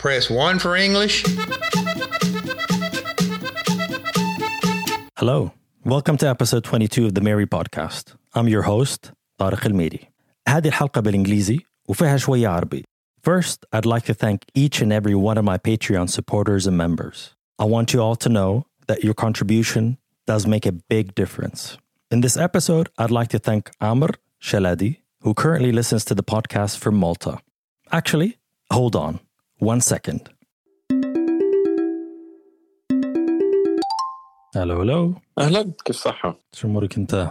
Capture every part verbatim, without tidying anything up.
Press one for English. Hello. Welcome to episode twenty-two of the Mary podcast. I'm your host, طارق الميري. هذه الحلقة بالإنجليزي وفيها شوية عربي. First, I'd like to thank each and every one of my Patreon supporters and members. I want you all to know that your contribution does make a big difference. In this episode, I'd like to thank Amr Shaladi, who currently listens to the podcast from Malta. Actually, hold on one second. Hello, hello. أهلا كيف صحة؟ شو أمورك أنت؟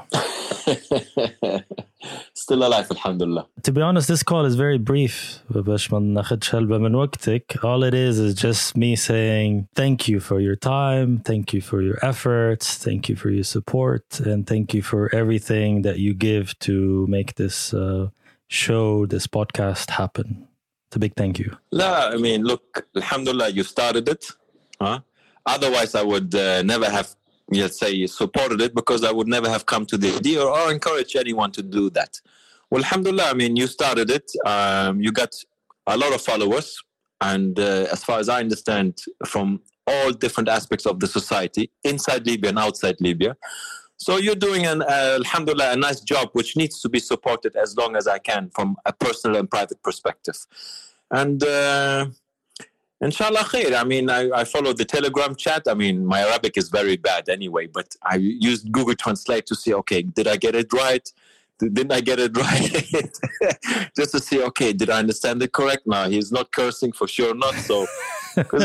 Still alive الحمد لله. To be honest, this call is very brief. باش ما ناخدش هلبة من وقتك. All it is is just me saying thank you for your time, thank you for your efforts, thank you for your support, and thank you for everything that you give to make this uh, show, this podcast happen. It's a big thank you. لا, I mean, look, alhamdulillah, you started it. Huh? Otherwise, I would uh, never have, let's say, supported it because I would never have come to the idea or, or encourage anyone to do that. Well, alhamdulillah, I mean, you started it. Um, you got a lot of followers. And uh, as far as I understand, from all different aspects of the society, inside Libya and outside Libya. So you're doing, an, uh, alhamdulillah, a nice job, which needs to be supported as long as I can from a personal and private perspective. And... Uh, Inshallah khair. I mean, I, I follow the Telegram chat. I mean, my Arabic is very bad anyway, but I used Google Translate to see, okay, did I get it right? Didn't I get it right? Just to see, okay, did I understand it correct? No, he's not cursing for sure, not so. Well,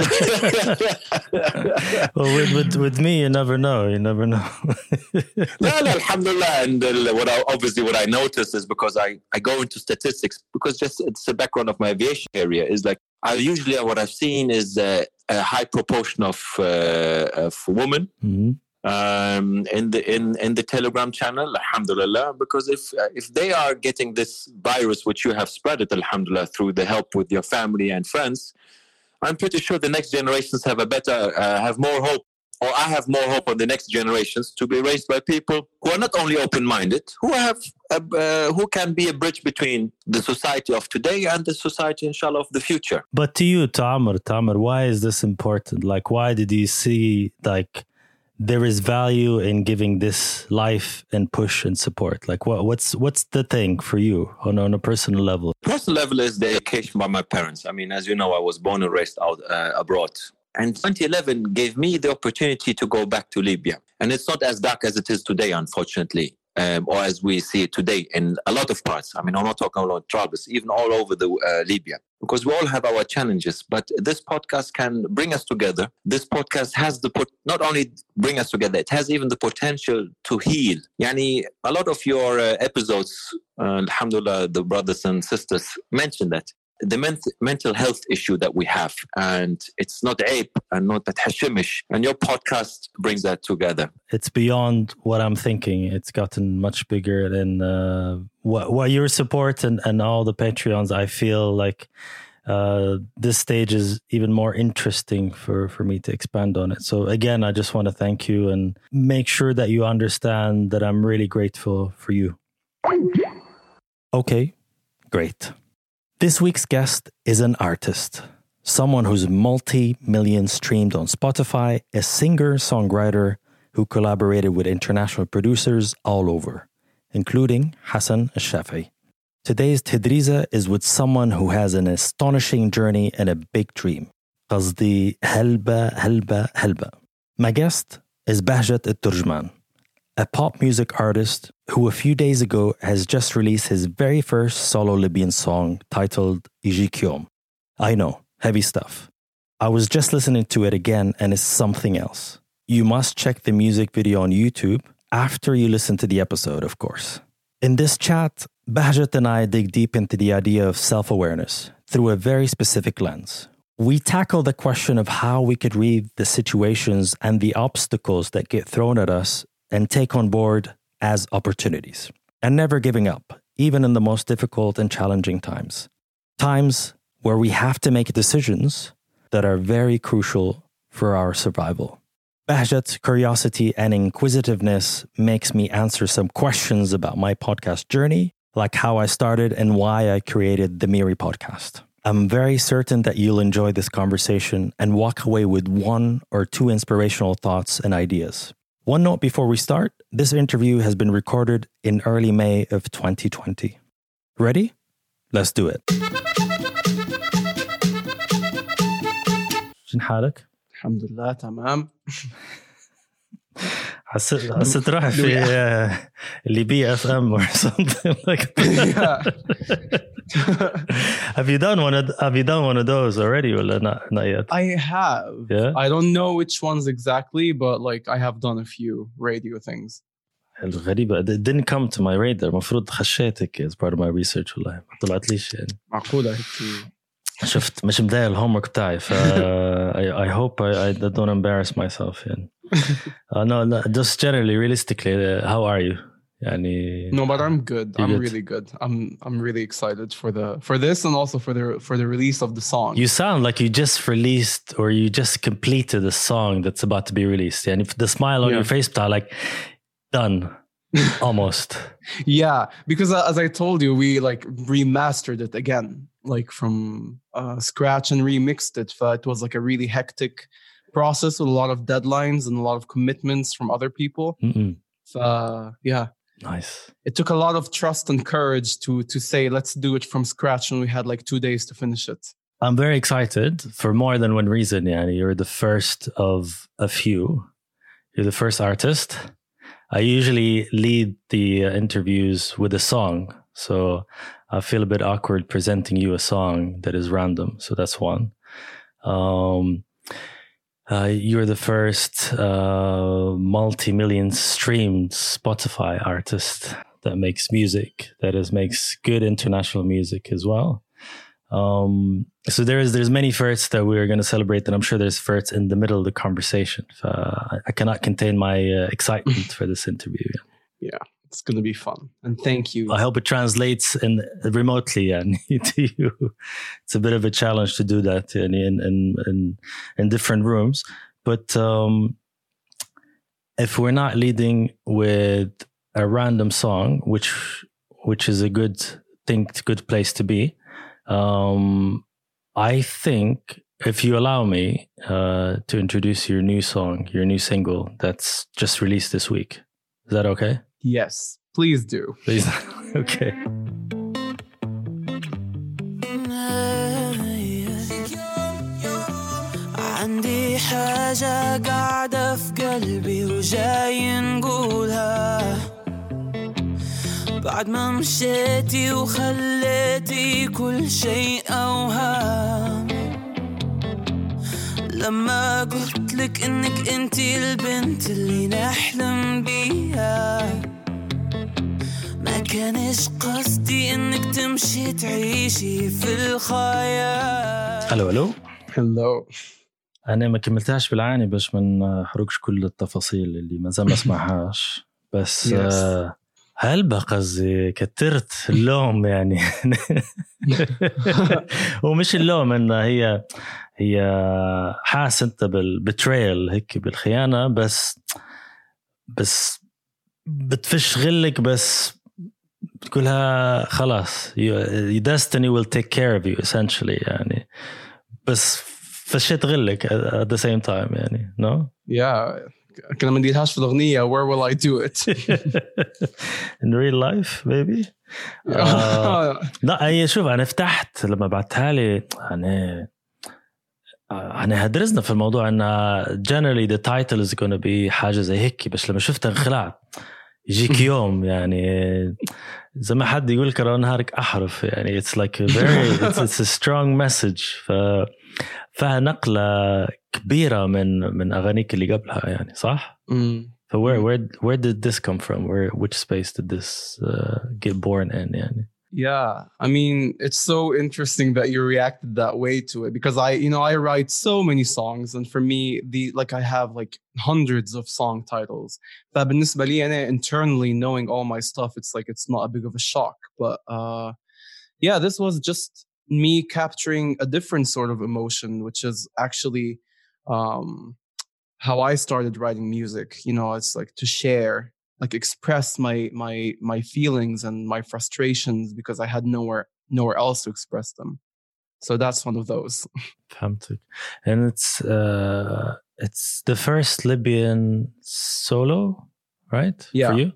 with, with with me, you never know. You never know. no, no, alhamdulillah. And uh, what I, obviously what I noticed is because I, I go into statistics, because just it's the background of my aviation area is like, I usually what I've seen is uh, a high proportion of uh, of women mm-hmm. um, in the in, in the Telegram channel, alhamdulillah. Because if uh, if they are getting this virus, which you have spread it, alhamdulillah, through the help with your family and friends, I'm pretty sure the next generations have a better, uh, have more hope, or I have more hope on the next generations to be raised by people who are not only open-minded, who have, a, uh, who can be a bridge between the society of today and the society, inshallah, of the future. But to you, Tamar, Tamar, why is this important? Like, why did you see, like, there is value in giving this life and push and support? Like, what, what's what's the thing for you on, on a personal level? Personal level is the education by my parents. I mean, as you know, I was born and raised out uh, abroad. And twenty eleven gave me the opportunity to go back to Libya. And it's not as dark as it is today, unfortunately, um, or as we see it today in a lot of parts. I mean, I'm not talking about Trablus, even all over the uh, Libya, because we all have our challenges. But this podcast can bring us together. This podcast has the pot- not only bring us together, it has even the potential to heal. Yani, a lot of your uh, episodes, uh, alhamdulillah, the brothers and sisters mentioned that. The ment- mental health issue that we have, and it's not ape and not that hashimish, and your podcast brings that together. It's beyond what I'm thinking. It's gotten much bigger than uh, what, what your support and, and all the Patreons. I feel like uh, this stage is even more interesting for, for me to expand on it. So again, I just want to thank you and make sure that you understand that I'm really grateful for you. Okay, great. This week's guest is an artist, someone who's multi-million streamed on Spotify, a singer-songwriter who collaborated with international producers all over, including Hassan Al-Shafi. Today's Tadriza is with someone who has an astonishing journey and a big dream. قصدي هلبة هلبة هلبة. My guest is Bahjat Al-Turjman, a pop music artist who a few days ago has just released his very first solo Libyan song titled Ijik Yom. I know, heavy stuff. I was just listening to it again and it's something else. You must check the music video on YouTube after you listen to the episode, of course. In this chat, Bahjat and I dig deep into the idea of self-awareness through a very specific lens. We tackle the question of how we could read the situations and the obstacles that get thrown at us and take on board as opportunities, and never giving up, even in the most difficult and challenging times. Times where we have to make decisions that are very crucial for our survival. Bahjat's curiosity and inquisitiveness makes me answer some questions about my podcast journey, like how I started and why I created the Miri podcast. I'm very certain that you'll enjoy this conversation and walk away with one or two inspirational thoughts and ideas. One note before we start, this interview has been recorded in early May of twenty twenty. Ready? Let's do it. شن حالك؟ الحمد لله تمام. حسيت حسيت روحي في اللي بي اف ام or something like that. Have you done one of Have you done one of those already or not? Not yet. I have. Yeah. I don't know which ones exactly, but like I have done a few radio things. الغريبة it didn't come to my radar. مفروض خشيتك as part of my research والله ما طلعت ليش يعني. معقولة هيك. شفت مش مضايق الهومورك بتاعي ف I, I hope I, I don't embarrass myself يعني. uh, no, no, just generally, realistically, uh, how are you? يعني, no, but I'm good. I'm good? really good. I'm I'm really excited for the for this and also for the for the release of the song. You sound like you just released or you just completed a song that's about to be released. And if the smile on yeah. your face, like done, almost. Yeah, because uh, as I told you, we like remastered it again, like from uh, scratch and remixed it. So it was like a really hectic process with a lot of deadlines and a lot of commitments from other people. So yeah, nice. It took a lot of trust and courage to to say let's do it from scratch, and we had like two days to finish it. I'm very excited for more than one reason. Yeah, you're the first of a few. You're the first artist. I usually lead the uh, interviews with a song, so I feel a bit awkward presenting you a song that is random. So that's one. Um, Uh, you're the first uh, multi-million streamed Spotify artist that makes music, that is makes good international music as well. Um, so there's there's many firsts that we're going to celebrate, and I'm sure there's firsts in the middle of the conversation. Uh, I, I cannot contain my uh, excitement for this interview. Yeah, it's going to be fun, and thank you. I hope it translates in remotely and to you. It's a bit of a challenge to do that in in in in, in different rooms. But um, if we're not leading with a random song, which which is a good thing, good place to be, um, I think if you allow me uh, to introduce your new song, your new single that's just released this week, is that okay? Yes, please do. Please. Okay. عندي حاجة قاعدة في قلبي وجاي نقولها بعد ما مشيتي وخليتي كل شيء أوهام لما قلت لك إنك أنتي البنت اللي نحلم بيها ما كانش قصدي إنك تمشي تعيشي في الخيال. ألو ألو. Hello. أنا ما كملتهاش بالعاني باش ما نحرقش كل التفاصيل اللي ما زال ما اسمعهاش بس yes. آه هل بقى كترت اللوم يعني ومش اللوم إن هي هي حاس أنت بالبتريل هيك بالخيانة بس بس بتفش غلك بس بتقولها خلاص your destiny will take care of you essentially يعني بس فشيت غلك at the same time يعني no yeah كنا ما نديرهاش في الأغنية where will I do it in real life maybe uh, لا هي شوف أنا فتحت لما بعتها لي أنا أنا هدرسنا في الموضوع إن generally the title is going to be حاجة زي هيك بس لما شفتها انخلعت يجيك يوم يعني زي ما حد يقول كرا نهارك أحرف يعني it's like a very it's, it's a strong message ف فيها نقلة كبيرة من من أغانيك اللي قبلها يعني صح؟ Mm. So where where where did this come from? Where which space did this uh, get born in يعني? Yeah, I mean, it's so interesting that you reacted that way to it because I, you know, I write so many songs and for me, the like I have like hundreds of song titles. فبالنسبة لي أنا internally knowing all my stuff, it's like it's not a big of a shock. But uh, yeah, this was just me capturing a different sort of emotion, which is actually um, how I started writing music. You know, it's like to share. Like express my my my feelings and my frustrations because I had nowhere nowhere else to express them. So that's one of those. فهمتك. And it's uh, it's the first Libyan solo, right? Yeah. For you?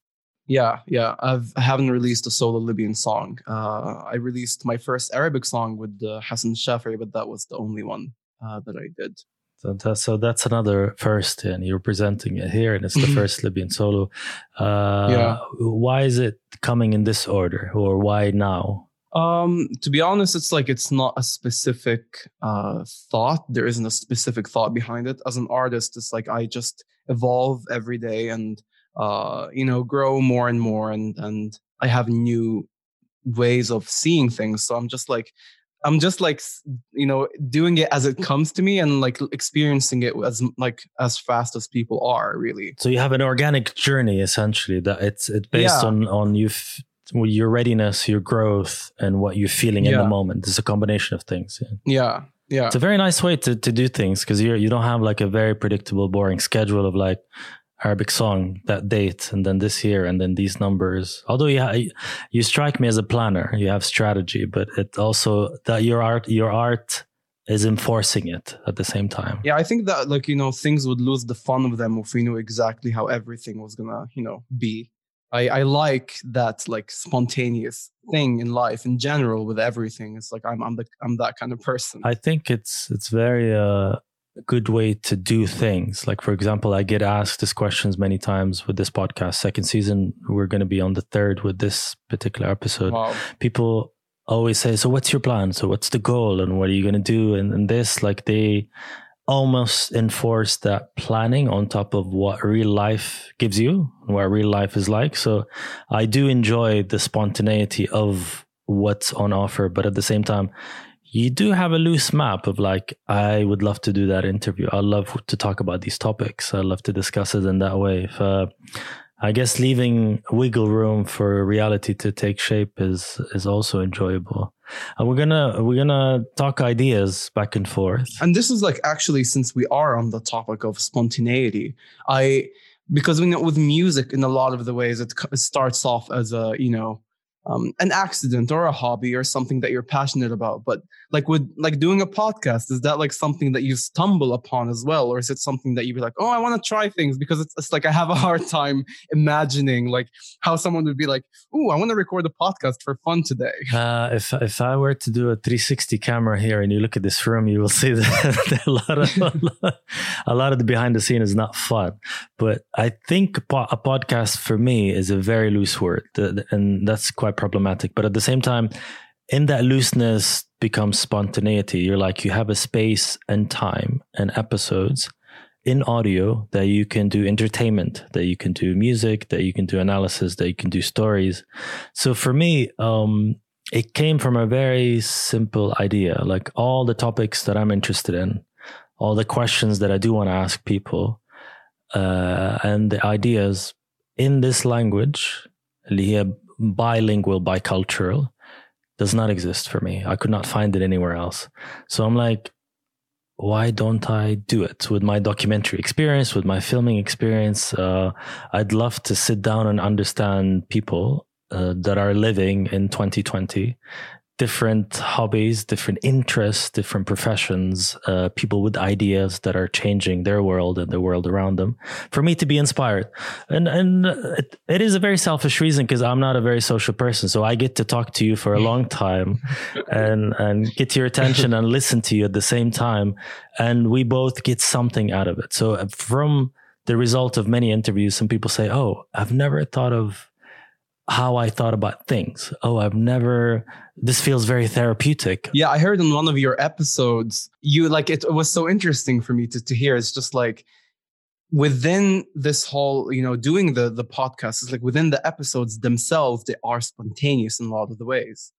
Yeah, yeah. I've, I haven't released a solo Libyan song. Uh, I released my first Arabic song with uh, Hassan Shafri, but that was the only one uh, that I did. So that's, so that's another first, and you're presenting it here, and it's the first Libyan solo. Uh, Yeah. Why is it coming in this order, or why now? Um, to be honest, it's like it's not a specific uh, thought. There isn't a specific thought behind it. As an artist, it's like I just evolve every day and uh, you know, grow more and more, and and I have new ways of seeing things. So I'm just like. I'm just like, you know, doing it as it comes to me and like experiencing it as like as fast as people are, really. So you have an organic journey, essentially, that it's it's based Yeah. on on you f- your readiness, your growth, and what you're feeling in Yeah. the moment. It's a combination of things. Yeah. Yeah, yeah, It's a very nice way to to do things, because you you don't have like a very predictable, boring schedule of like Arabic song, that date, and then this year, and then these numbers. Although you ha- you strike me as a planner, you have strategy, but it also that your art your art is enforcing it at the same time. yeah. I think that like, you know, things would lose the fun of them if we knew exactly how everything was gonna, you know, be. I, I like that like spontaneous thing in life in general with everything. It's like I'm I'm the I'm that kind of person. I think it's it's very uh, a good way to do things. Like, for example, I get asked these questions many times with this podcast. Second season, we're going to be on the third with this particular episode. Wow. People always say, so what's your plan? So what's the goal? And what are you going to do? And, and this, like, they almost enforce that planning on top of what real life gives you, what real life is like. So I do enjoy the spontaneity of what's on offer, but at the same time, you do have a loose map of like, I would love to do that interview. I love to talk about these topics. I love to discuss it in that way. If, uh, I guess leaving wiggle room for reality to take shape is is also enjoyable. And we're gonna we're gonna talk ideas back and forth. And this is like actually, since we are on the topic of spontaneity, I because we know with music in a lot of the ways it, it starts off as a, you know, um, an accident or a hobby or something that you're passionate about. But like with like doing a podcast, is that like something that you stumble upon as well? Or is it something that you be like, oh, I want to try things? Because it's, it's like I have a hard time imagining like how someone would be like, oh, I want to record a podcast for fun today. Uh, if if I were to do a three sixty camera here and you look at this room, you will see that a lot of a lot of the behind the scene is not fun. But I think a podcast for me is a very loose word, and that's quite problematic. But at the same time, in that looseness becomes spontaneity. You're like, you have a space and time and episodes in audio that you can do entertainment, that you can do music, that you can do analysis, that you can do stories. So for me, um, it came from a very simple idea. Like all the topics that I'm interested in, all the questions that I do want to ask people, uh, and the ideas in this language, اللي هي bilingual, bicultural, does not exist for me. I could not find it anywhere else. So I'm like, why don't I do it with my documentary experience, with my filming experience? Uh, I'd love to sit down and understand people uh, that are living in twenty twenty, different hobbies, different interests, different professions, uh, people with ideas that are changing their world and the world around them, for me to be inspired. And and it, it is a very selfish reason, because I'm not a very social person. So I get to talk to you for a long time and, and get your attention and listen to you at the same time. And we both get something out of it. So from the result of many interviews, some people say, oh, I've never thought of how I thought about things. Oh, I've never, this feels very therapeutic. Yeah, I heard in one of your episodes, you like, it was so interesting for me to, to hear. It's just like within this whole, you know, doing the, the podcast, it's like within the episodes themselves, they are spontaneous in a lot of the ways.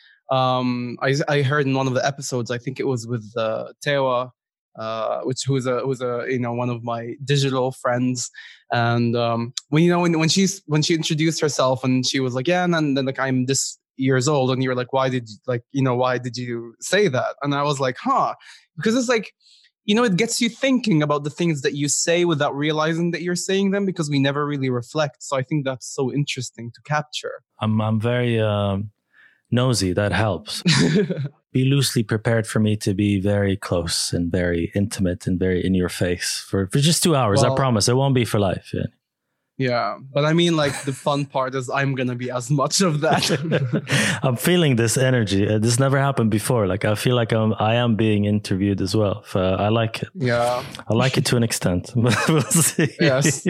Um, I, I heard in one of the episodes, I think it was with uh, Tewa, uh, which who's a who's a you know one of my digital friends, and um, when you know when when she's when she introduced herself and she was like, yeah, and then, then like I'm this years old, and you were like, why did you, like you know why did you say that? And I was like, huh, because it's like, you know, it gets you thinking about the things that you say without realizing that you're saying them, because we never really reflect. So I think that's so interesting to capture. I'm I'm very um, nosy. That helps. be loosely prepared for me to be very close and very intimate and very in your face for, for just two hours. Well, I promise it won't be for life. Yeah. Yeah, but I mean, like, the fun part is I'm gonna be as much of that. I'm feeling this energy. Uh, this never happened before. Like, I feel like I'm, I am being interviewed as well. Uh, I like it. Yeah, I like it to an extent. We'll see. Yes.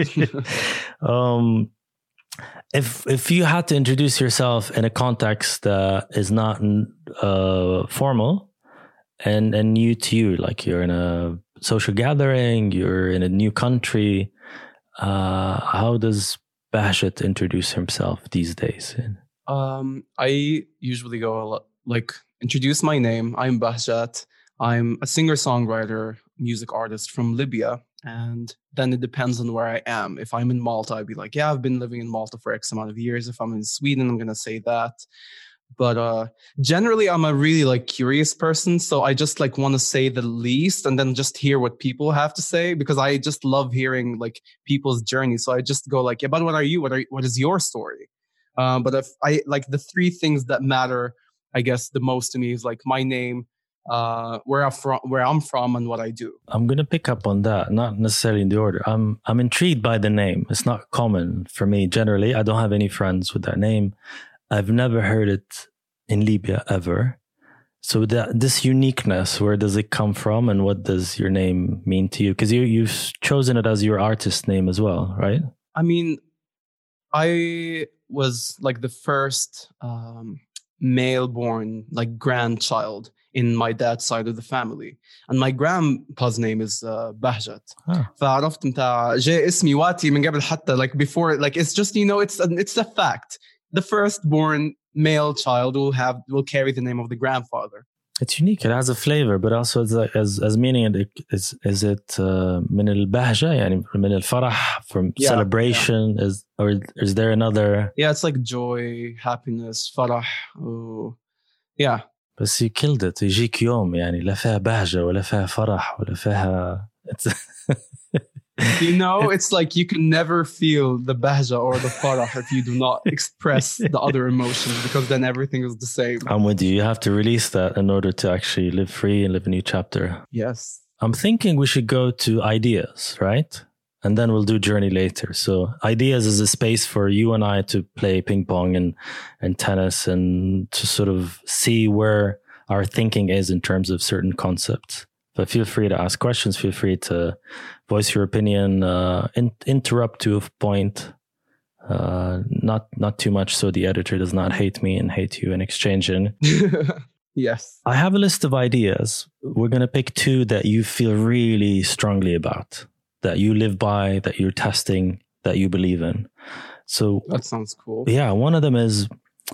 um, if if you had to introduce yourself in a context that is not uh, formal and and new to you, like you're in a social gathering, you're in a new country. Uh, how does Bahjat introduce himself these days? Um, I usually go a lot, like introduce my name. I'm Bahjat. I'm a singer-songwriter, music artist from Libya. And then it depends on where I am. If I'm in Malta, I'd be like, yeah, I've been living in Malta for X amount of years. If I'm in Sweden, I'm going to say that. But uh, generally, I'm a really like curious person. So I just like want to say the least and then just hear what people have to say, because I just love hearing like people's journey. So I just go like, yeah, but what are you? What are what is your story? Um, but if I like the three things that matter, I guess the most to me is like my name, uh, where I'm from, where I'm from, and what I do. I'm gonna pick up on that, not necessarily in the order. I'm I'm intrigued by the name. It's not common for me generally. I don't have any friends with that name. I've never heard it in Libya ever. So that this uniqueness, where does it come from, and what does your name mean to you? Because you you've chosen it as your artist name as well, right? I mean, I was like the first um, male-born like grandchild in my dad's side of the family, and my grandpa's name is uh, Bahjat. Ah. فعرفت متاع جاء اسمي واتي من قبل حتى like before, like it's just, you know, it's a, it's a fact. The firstborn male child will have will carry the name of the grandfather. It's unique. It has a flavor, but also it's like, as as meaning it is is it من البهجة يعني من الفرح, from yeah, celebration, yeah. is or is there another? Yeah, it's like joy, happiness, فرح. Oh, yeah. بس you killed it. يجيك يوم يعني لا فيها بهجة ولا فيها فرح ولا فيها. You know, it's like you can never feel the bahja or the farah if you do not express the other emotions, because then everything is the same. I'm with you. You have to release that in order to actually live free and live a new chapter. Yes. I'm thinking we should go to ideas, right? And then we'll do journey later. So ideas is a space for you and I to play ping pong and, and tennis, and to sort of see where our thinking is in terms of certain concepts. But feel free to ask questions. Feel free to voice your opinion, uh, in, interrupt to a point, uh, not not too much so the editor does not hate me and hate you in exchange. Yes. I have a list of ideas. We're going to pick two that you feel really strongly about, that you live by, that you're testing, that you believe in. So that sounds cool. Yeah, one of them is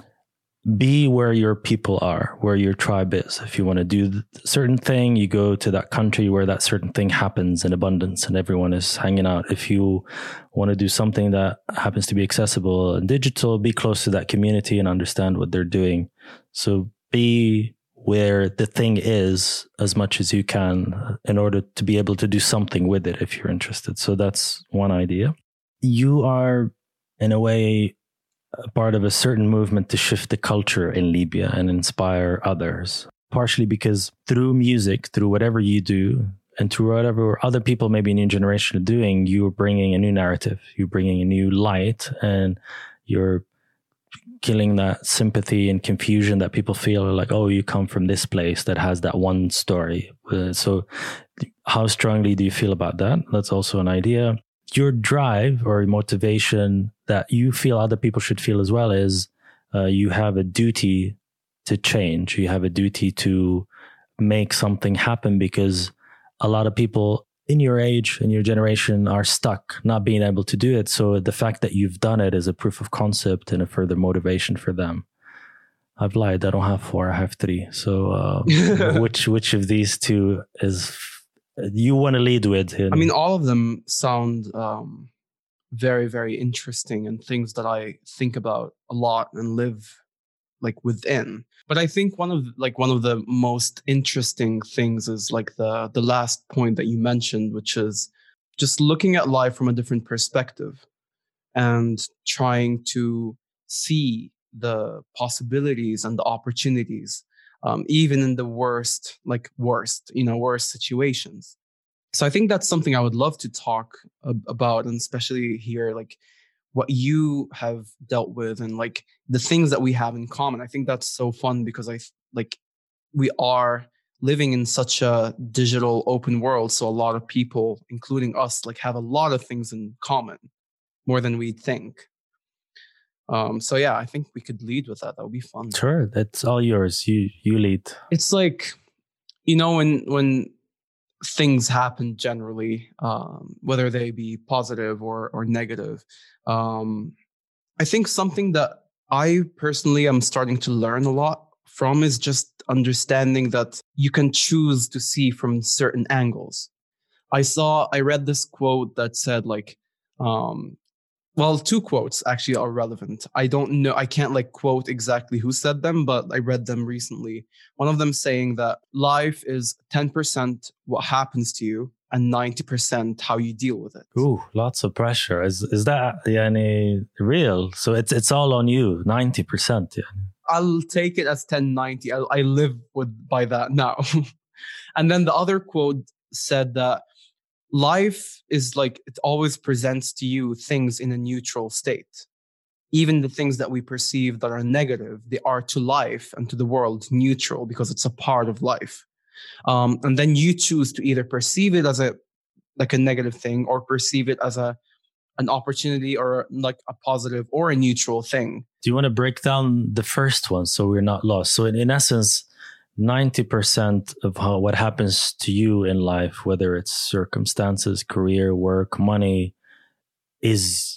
be where your people are, where your tribe is. If you want to do a certain thing, you go to that country where that certain thing happens in abundance and everyone is hanging out. If you want to do something that happens to be accessible and digital, be close to that community and understand what they're doing. So be where the thing is as much as you can in order to be able to do something with it if you're interested. So that's one idea. You are, in a way, a part of a certain movement to shift the culture in Libya and inspire others, partially because through music, through whatever you do, and through whatever other people maybe in your generation are doing, you're bringing a new narrative, you're bringing a new light, and you're killing that sympathy and confusion that people feel like, oh, you come from this place that has that one story. Uh, so how strongly do you feel about that? That's also an idea. Your drive or motivation that you feel other people should feel as well is uh, you have a duty to change. You have a duty to make something happen, because a lot of people in your age and your generation are stuck not being able to do it. So the fact that you've done it is a proof of concept and a further motivation for them. I've lied. I don't have four. I have three. So uh, which which of these two is you want to lead with? In- I mean, all of them sound um, very, very interesting and things that I think about a lot and live like within. But I think one of like one of the most interesting things is like the the last point that you mentioned, which is just looking at life from a different perspective and trying to see the possibilities and the opportunities um, even in the worst, like worst, you know, worst situations. So I think that's something I would love to talk ab- about, and especially here, like what you have dealt with and like the things that we have in common. I think that's so fun because I like we are living in such a digital open world. So a lot of people, including us, like have a lot of things in common, more than we think. Um, so yeah, I think we could lead with that. That would be fun. Sure, that's all yours. You you lead. It's like, you know, when when things happen generally, um, whether they be positive or or negative, um, I think something that I personally am starting to learn a lot from is just understanding that you can choose to see from certain angles. I saw, I read this quote that said like, um, well, two quotes actually are relevant. I don't know, I can't like quote exactly who said them, but I read them recently. One of them saying that life is ten percent what happens to you and ninety percent how you deal with it. Ooh, lots of pressure. Is is that yani, real? So it's it's all on you, ninety percent. Yeah. I'll take it as ten ninety. I, I live with by that now. And then the other quote said that life is like, it always presents to you things in a neutral state. Even the things that we perceive that are negative, they are to life and to the world neutral because it's a part of life. Um, and then you choose to either perceive it as a like a negative thing or perceive it as a an opportunity or like a positive or a neutral thing. Do you want to break down the first one so we're not lost? So in, in essence, ninety percent of how, what happens to you in life, whether it's circumstances, career, work, money, is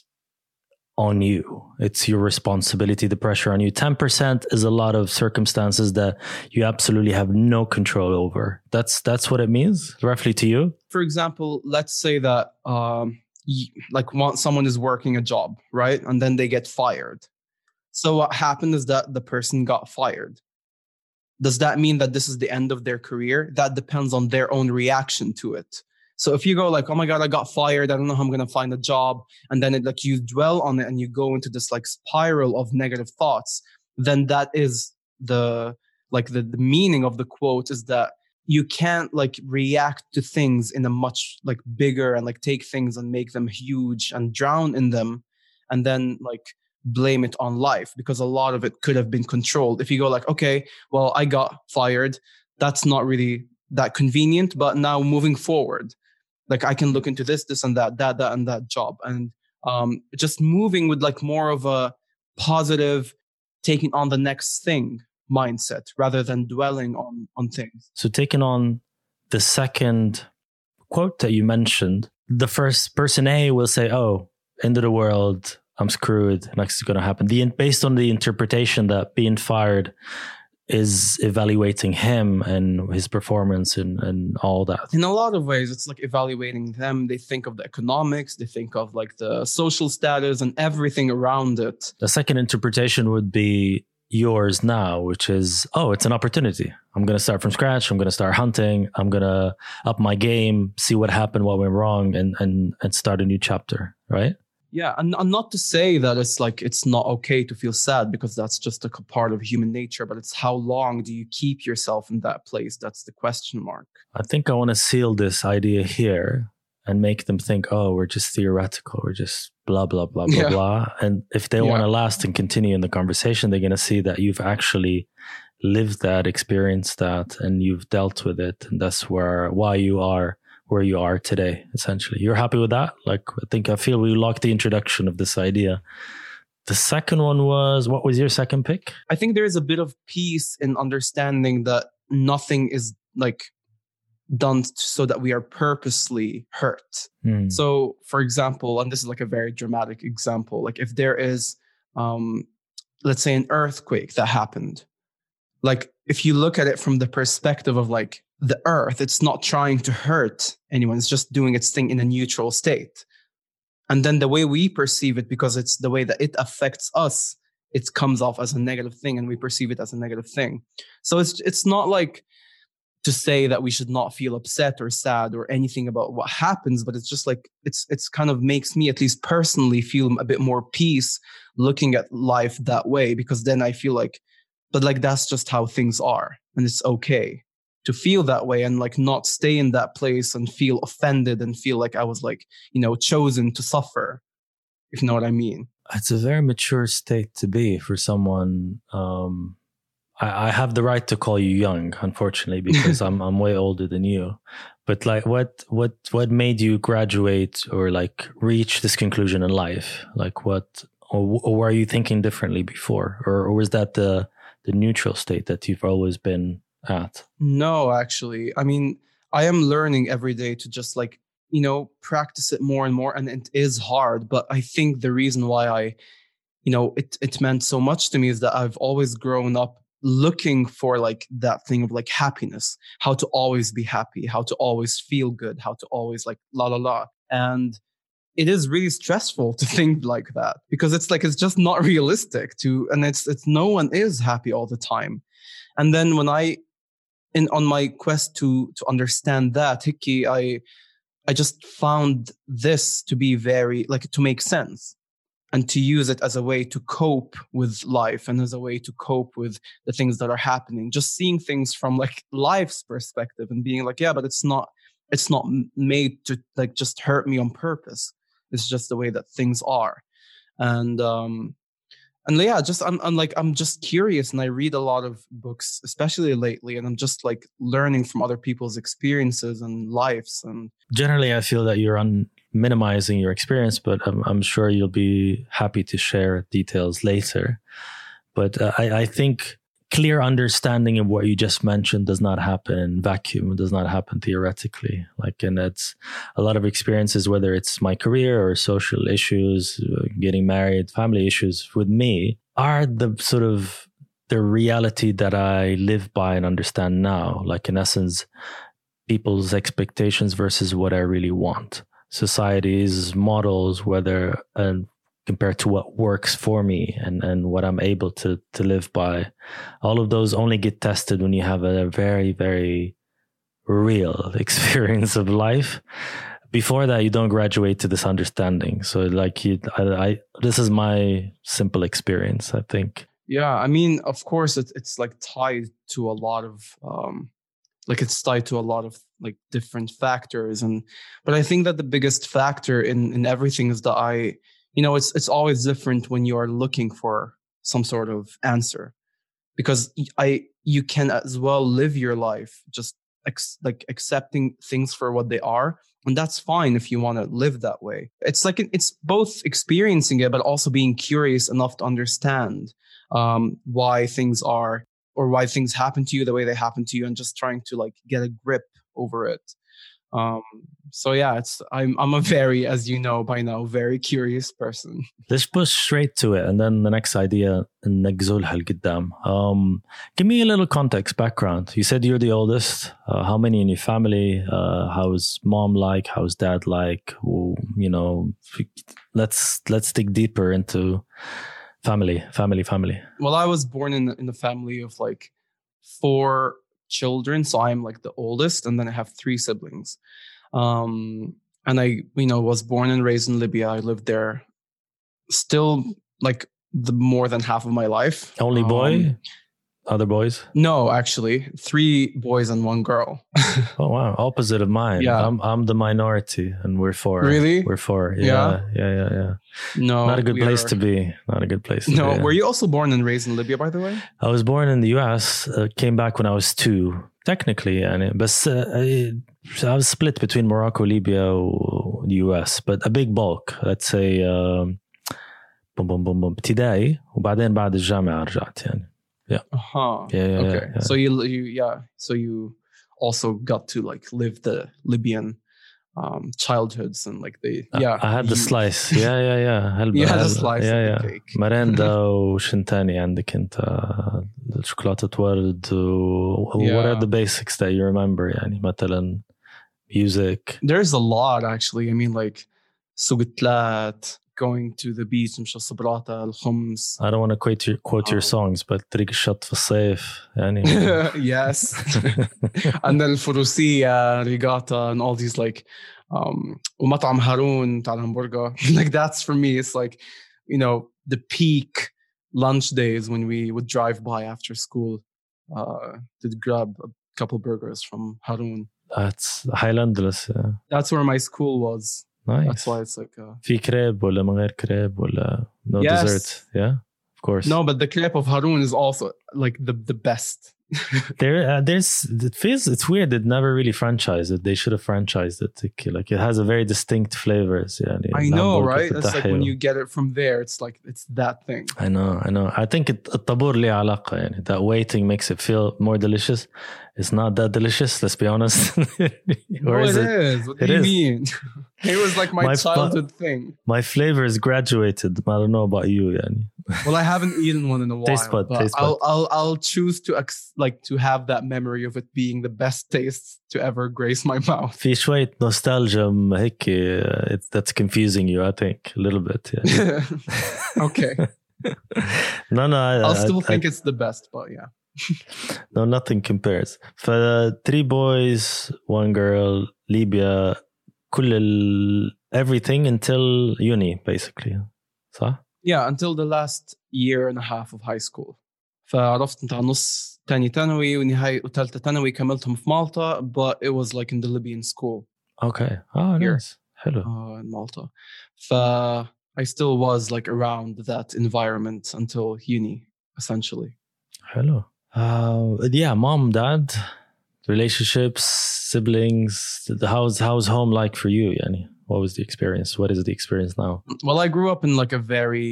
on you. It's your responsibility, the pressure on you. ten percent is a lot of circumstances that you absolutely have no control over. That's that's what it means, roughly, to you? For example, let's say that um, you, like one, someone is working a job, right? And then they get fired. So what happened is that the person got fired. Does that mean that this is the end of their career? That depends on their own reaction to it. So if you go like, oh my God, I got fired, I don't know how I'm going to find a job. And then it, like you dwell on it and you go into this like spiral of negative thoughts, then that is the, like the, the meaning of the quote is that you can't like react to things in a much like bigger and like take things and make them huge and drown in them. And then like blame it on life because a lot of it could have been controlled. If you go like, okay, well, I got fired. That's not really that convenient, but now moving forward, like I can look into this, this and that, that, that, and that job. And um, just moving with like more of a positive, taking on the next thing mindset rather than dwelling on, on things. So taking on the second quote that you mentioned, the first person A will say, oh, end of the world, I'm screwed, next is going to happen. The, based on the interpretation that being fired is evaluating him and his performance and, and all that. In a lot of ways, it's like evaluating them. They think of the economics, they think of like the social status and everything around it. The second interpretation would be yours now, which is, oh, it's an opportunity. I'm going to start from scratch. I'm going to start hunting. I'm going to up my game, see what happened, what went wrong, and, and, and start a new chapter, right? Yeah, and, and not to say that it's like it's not okay to feel sad because that's just a part of human nature, but it's how long do you keep yourself in that place? That's the question mark. I think I want to seal this idea here and make them think, oh, we're just theoretical. We're just blah, blah, blah, blah, yeah. blah. And if they yeah. want to last and continue in the conversation, they're going to see that you've actually lived that, experienced that, and you've dealt with it. And that's where why you are where you are today, essentially. You're happy with that? Like, I think I feel we locked the introduction of this idea. The second one was, what was your second pick? I think there is a bit of peace in understanding that nothing is like done so that we are purposely hurt. Mm. So, for example, and this is like a very dramatic example, like if there is, um, let's say an earthquake that happened, like if you look at it from the perspective of like the earth, it's not trying to hurt anyone. It's just doing its thing in a neutral state. And then the way we perceive it, because it's the way that it affects us, it comes off as a negative thing and we perceive it as a negative thing. So it's it's not like to say that we should not feel upset or sad or anything about what happens, but it's just like, it's it's kind of makes me at least personally feel a bit more peace looking at life that way, because then I feel like but like that's just how things are, and it's okay to feel that way and like not stay in that place and feel offended and feel like I was like, you know, chosen to suffer, if you know what I mean. It's a very mature state to be for someone. Um, I, I have the right to call you young, unfortunately, because I'm I'm way older than you. But like, what what what made you graduate or like reach this conclusion in life? Like, what or, or were you thinking differently before, or, or was that the the neutral state that you've always been at? No, actually, I mean, I am learning every day to just like, you know, practice it more and more, and it is hard. But I think the reason why I, you know, it it meant so much to me is that I've always grown up looking for like that thing of like happiness, how to always be happy, how to always feel good, how to always like la la la. And it is really stressful to think like that, because it's like, it's just not realistic to, and it's, it's no one is happy all the time. And then when I, in, on my quest to, to understand that, Hickey, I, I just found this to be very, like, to make sense and to use it as a way to cope with life and as a way to cope with the things that are happening. Just seeing things from like life's perspective and being like, yeah, but it's not, it's not made to like just hurt me on purpose. It's just the way that things are. And, um, And yeah, just I'm, I'm like I'm just curious, and I read a lot of books, especially lately, and I'm just like learning from other people's experiences and lives. And generally, I feel that you're on minimizing your experience, but I'm, I'm sure you'll be happy to share details later. But uh, I, I think clear understanding of what you just mentioned does not happen in vacuum. It does not happen theoretically. Like, and it's a lot of experiences, whether it's my career or social issues, getting married, family issues with me, are the sort of the reality that I live by and understand now. Like, in essence, people's expectations versus what I really want. Society's models, whether and compared to what works for me and, and what I'm able to, to live by. All of those only get tested when you have a very, very real experience of life. Before that, you don't graduate to this understanding. So like you, I, I this is my simple experience, I think. Yeah, I mean, of course, it, it's like tied to a lot of, um, like it's tied to a lot of like different factors. And, but I think that the biggest factor in, in everything is that I, you know, it's it's always different when you are looking for some sort of answer, because I you can as well live your life just ex, like accepting things for what they are, and that's fine if you want to live that way. It's like it's both experiencing it, but also being curious enough to understand um, why things are or why things happen to you the way they happen to you, and just trying to like get a grip over it. Um, so yeah, it's I'm I'm a very, as you know by now, very curious person. Let's push straight to it, and then the next idea, نجزولها لقدام. Um, give me a little context, background. You said you're the oldest. Uh, how many in your family? Uh, how's mom like? How's dad like? You know, let's let's dig deeper into family, family, family. Well, I was born in in a family of like four children, so I'm like the oldest, and then I have three siblings. Um, and I, you know, was born and raised in Libya. I lived there still like the more than half of my life. Only boy? Um, Other boys? No, actually, three boys and one girl. Oh wow, opposite of mine. Yeah, I'm I'm the minority, and we're four. Really? We're four. Yeah, yeah, yeah, yeah. yeah. No, not a good place are... to be. Not a good place. To no, be, yeah. Were you also born and raised in Libya, by the way? I was born in the U S. Uh, came back when I was two, technically, and but uh, I, I was split between Morocco, Libya, the U S. But a big bulk. Let's say, um, بوم بوم بوم بوم ابتدائي وبعدين بعد الجامعة رجعت يعني. Yeah. Uh-huh. Yeah, yeah. Okay. Yeah, yeah. So you, you, yeah. So you also got to like live the Libyan um, childhoods and like the yeah. I had the you, slice. Yeah, yeah, yeah. هل you had هل a slice yeah, of yeah. the cake. مرندا وشن تاني عندك أنت شوكولاتة ورد و Yeah. what are the basics that you remember يعني مثلا music? There's a lot actually. I mean like سوقتلات, going to the beach, مش الصبراطة, الخمس. I don't want to quote your, quote your Um, songs, but طريق الشط في الصيف يعني. Yes. And then الفروسية, ريغاتا, and all these like um ومطعم هارون تاع الهمبرجر. Like that's for me, it's like, you know, the peak, lunch days when we would drive by after school uh, to grab a couple burgers from Harun. That's Highlanders. Yeah. That's where my school was. Nice. That's why it's like uh, في كريب ولا من غير كريب ولا no Yes. dessert. Yeah, of course. no, but the crepe of Harun is also like the the best. There, uh, there's. It feels it's weird. It never really franchised it. They should have franchised it. Like it has a very distinct flavors. Yeah, I know, right? It's like when you get it from there, it's like it's that thing. I know, I know. I think it, الطابور ليه علاقة يعني. That waiting makes it feel more delicious. It's not that delicious. Let's be honest. Or no, is it, it is. What do you is. mean? It was like my, my childhood fa- thing. My flavor is graduated. I don't know about you, yani. Well, I haven't eaten one in a while. Taste bud, but taste I'll, bud. I'll I'll choose to ex- like to have that memory of it being the best taste to ever grace my mouth. في شوية nostalgia هيك. Uh, it, that's confusing you, I think, a little bit. Yeah. Okay. no, no. I, I'll still I, think I, it's the best, but yeah. No, nothing compares. For uh, three boys, one girl, Libya, كل ال, everything until uni, basically. صح? Yeah, until the last year and a half of high school. فعرفت انت على نص تاني ثانوي ونهاية وثالثة ثانوي كملتهم في مالطا, but it was like in the Libyan school. Okay. Oh, Here. nice. Hello. Uh, in Malta. ف I still was like around that environment until uni, essentially. Hello. Uh, yeah, mom, dad, relationships, siblings. How's how's home like for you, Yani? What was the experience? What is the experience now? Well, I grew up in like a very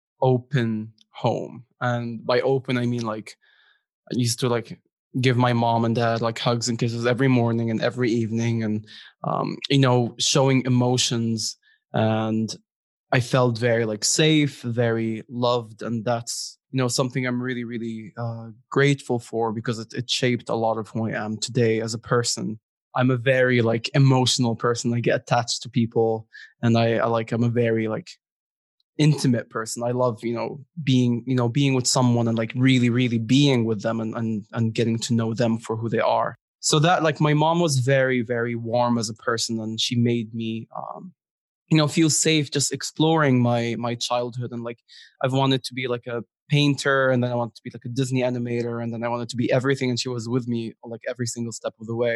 open home. And by open, I mean like I used to like give my mom and dad like hugs and kisses every morning and every evening. And, um, you know, showing emotions. And I felt very like safe, very loved. And that's, you know, something I'm really, really uh, grateful for because it, it shaped a lot of who I am today as a person. I'm a very like emotional person. I get attached to people, and I, I like I'm a very like intimate person. I love, you know, being, you know, being with someone and like really, really being with them and and and getting to know them for who they are. So that like my mom was very, very warm as a person, and she made me um you know, feel safe just exploring my my childhood. And like I've wanted to be like a painter, and then I wanted to be like a Disney animator, and then I wanted to be everything, and she was with me like every single step of the way.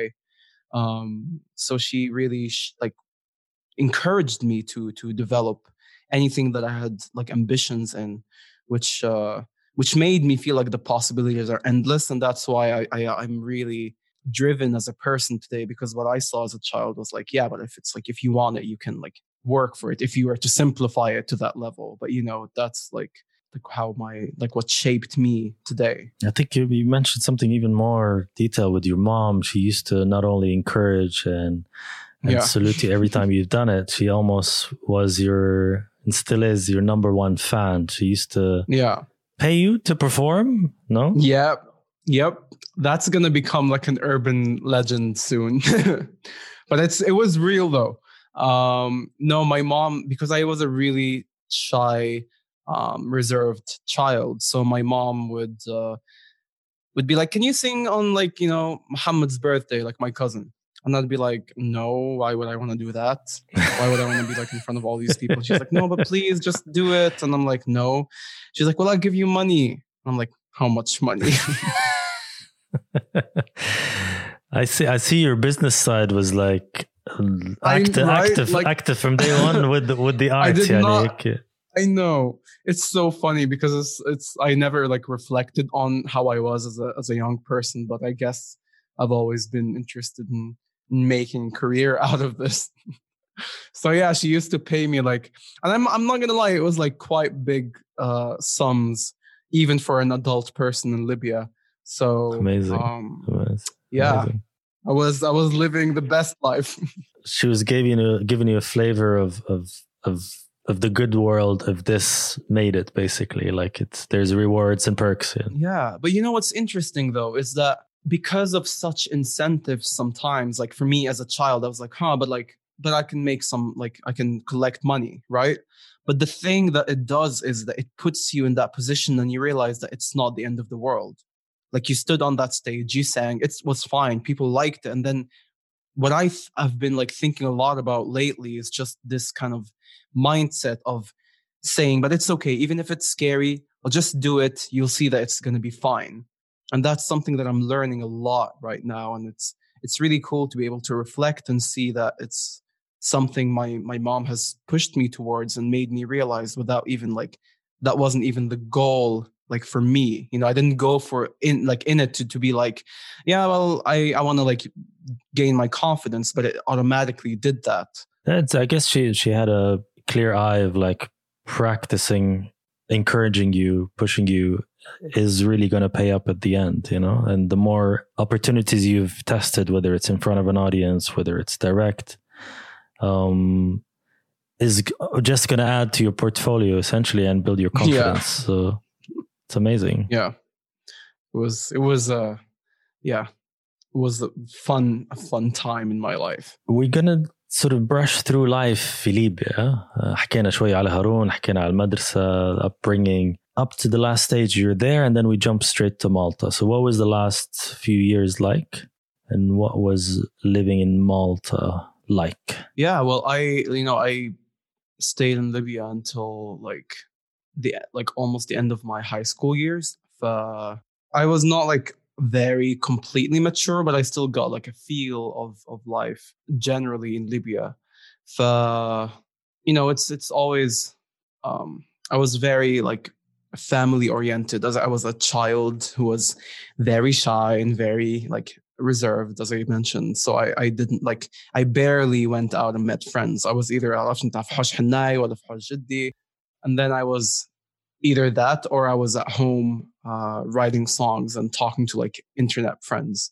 Um, so she really sh- like encouraged me to to develop anything that I had like ambitions in, which uh, which made me feel like the possibilities are endless, and that's why I, I I'm really driven as a person today, because what I saw as a child was like, yeah, but if it's like if you want it, you can like work for it if you were to simplify it to that level. But you know, that's like like how my like what shaped me today. I think you, you mentioned something even more detailed with your mom. She used to not only encourage and, and Yeah. salute you every time you've done it, she almost was your and still is your number one fan. She used to Yeah. pay you to perform. No. Yep. Yep. That's gonna become like an urban legend soon. But it's it was real though. Um, no, my mom, because I was a really shy, um, reserved child. So my mom would uh, would be like, "Can you sing on like you know Muhammad's birthday, like my cousin?" And I'd be like, "No, why would I want to do that? Why would I want to be like in front of all these people?" She's like, "No, but please just do it." And I'm like, "No." She's like, "Well, I'll give you money." I'm like, "How much money?" I see. I see. Your business side was like active, right? active, Like, active from day one with the, with the art. I did yani, not. okay. I know, it's so funny because it's it's I never like reflected on how I was as a as a young person, but I guess I've always been interested in, in making a career out of this. So yeah, she used to pay me like, and I'm I'm not gonna lie, it was like quite big uh, sums even for an adult person in Libya. So Amazing. Um, Amazing. yeah, Amazing. I was I was living the best life. She was giving you giving you a flavor of of of of the good world of this made it basically. Like it's there's rewards and perks. Yeah. Yeah, but you know what's interesting though is that because of such incentives, sometimes like for me as a child, I was like, huh, but like but I can make some like I can collect money, right? But the thing that it does is that it puts you in that position, and you realize that it's not the end of the world. Like you stood on that stage, you sang, it was fine, people liked it. And then what I've, I've been like thinking a lot about lately is just this kind of mindset of saying, but it's okay, even if it's scary, just do it. You'll see that it's going to be fine. And that's something that I'm learning a lot right now. And it's it's really cool to be able to reflect and see that it's something my my mom has pushed me towards and made me realize without even like, that wasn't even the goal, like for me. You know, I didn't go for in like in it to, to be like, yeah, well, I, I want to like gain my confidence, but it automatically did that. That's, I guess she she had a clear eye of like practicing, encouraging you, pushing you is really going to pay up at the end, you know? And the more opportunities you've tested, whether it's in front of an audience, whether it's direct, um, is just going to add to your portfolio essentially and build your confidence. Yeah. So it's amazing. Yeah. It was, it was, uh, yeah, it was a fun, a fun time in my life. We're going to sort of brush through life في ليبيا. حكينا شوي على هارون, حكينا على المدرسة, upbringing, up to the last stage you're there, and then we jump straight to Malta. So what was the last few years like, and what was living in Malta like? Yeah, well, I, you know, I stayed in Libya until like the, like almost the end of my high school years. Uh, I was not like very completely mature, but I still got like a feel of, of life generally in Libya. Uh, you know, it's, it's always, um, I was very like family oriented, as I was a child who was very shy and very like reserved, as I mentioned. So I, I didn't like, I barely went out and met friends. I was either and then I was either that or I was at home uh, writing songs and talking to like internet friends.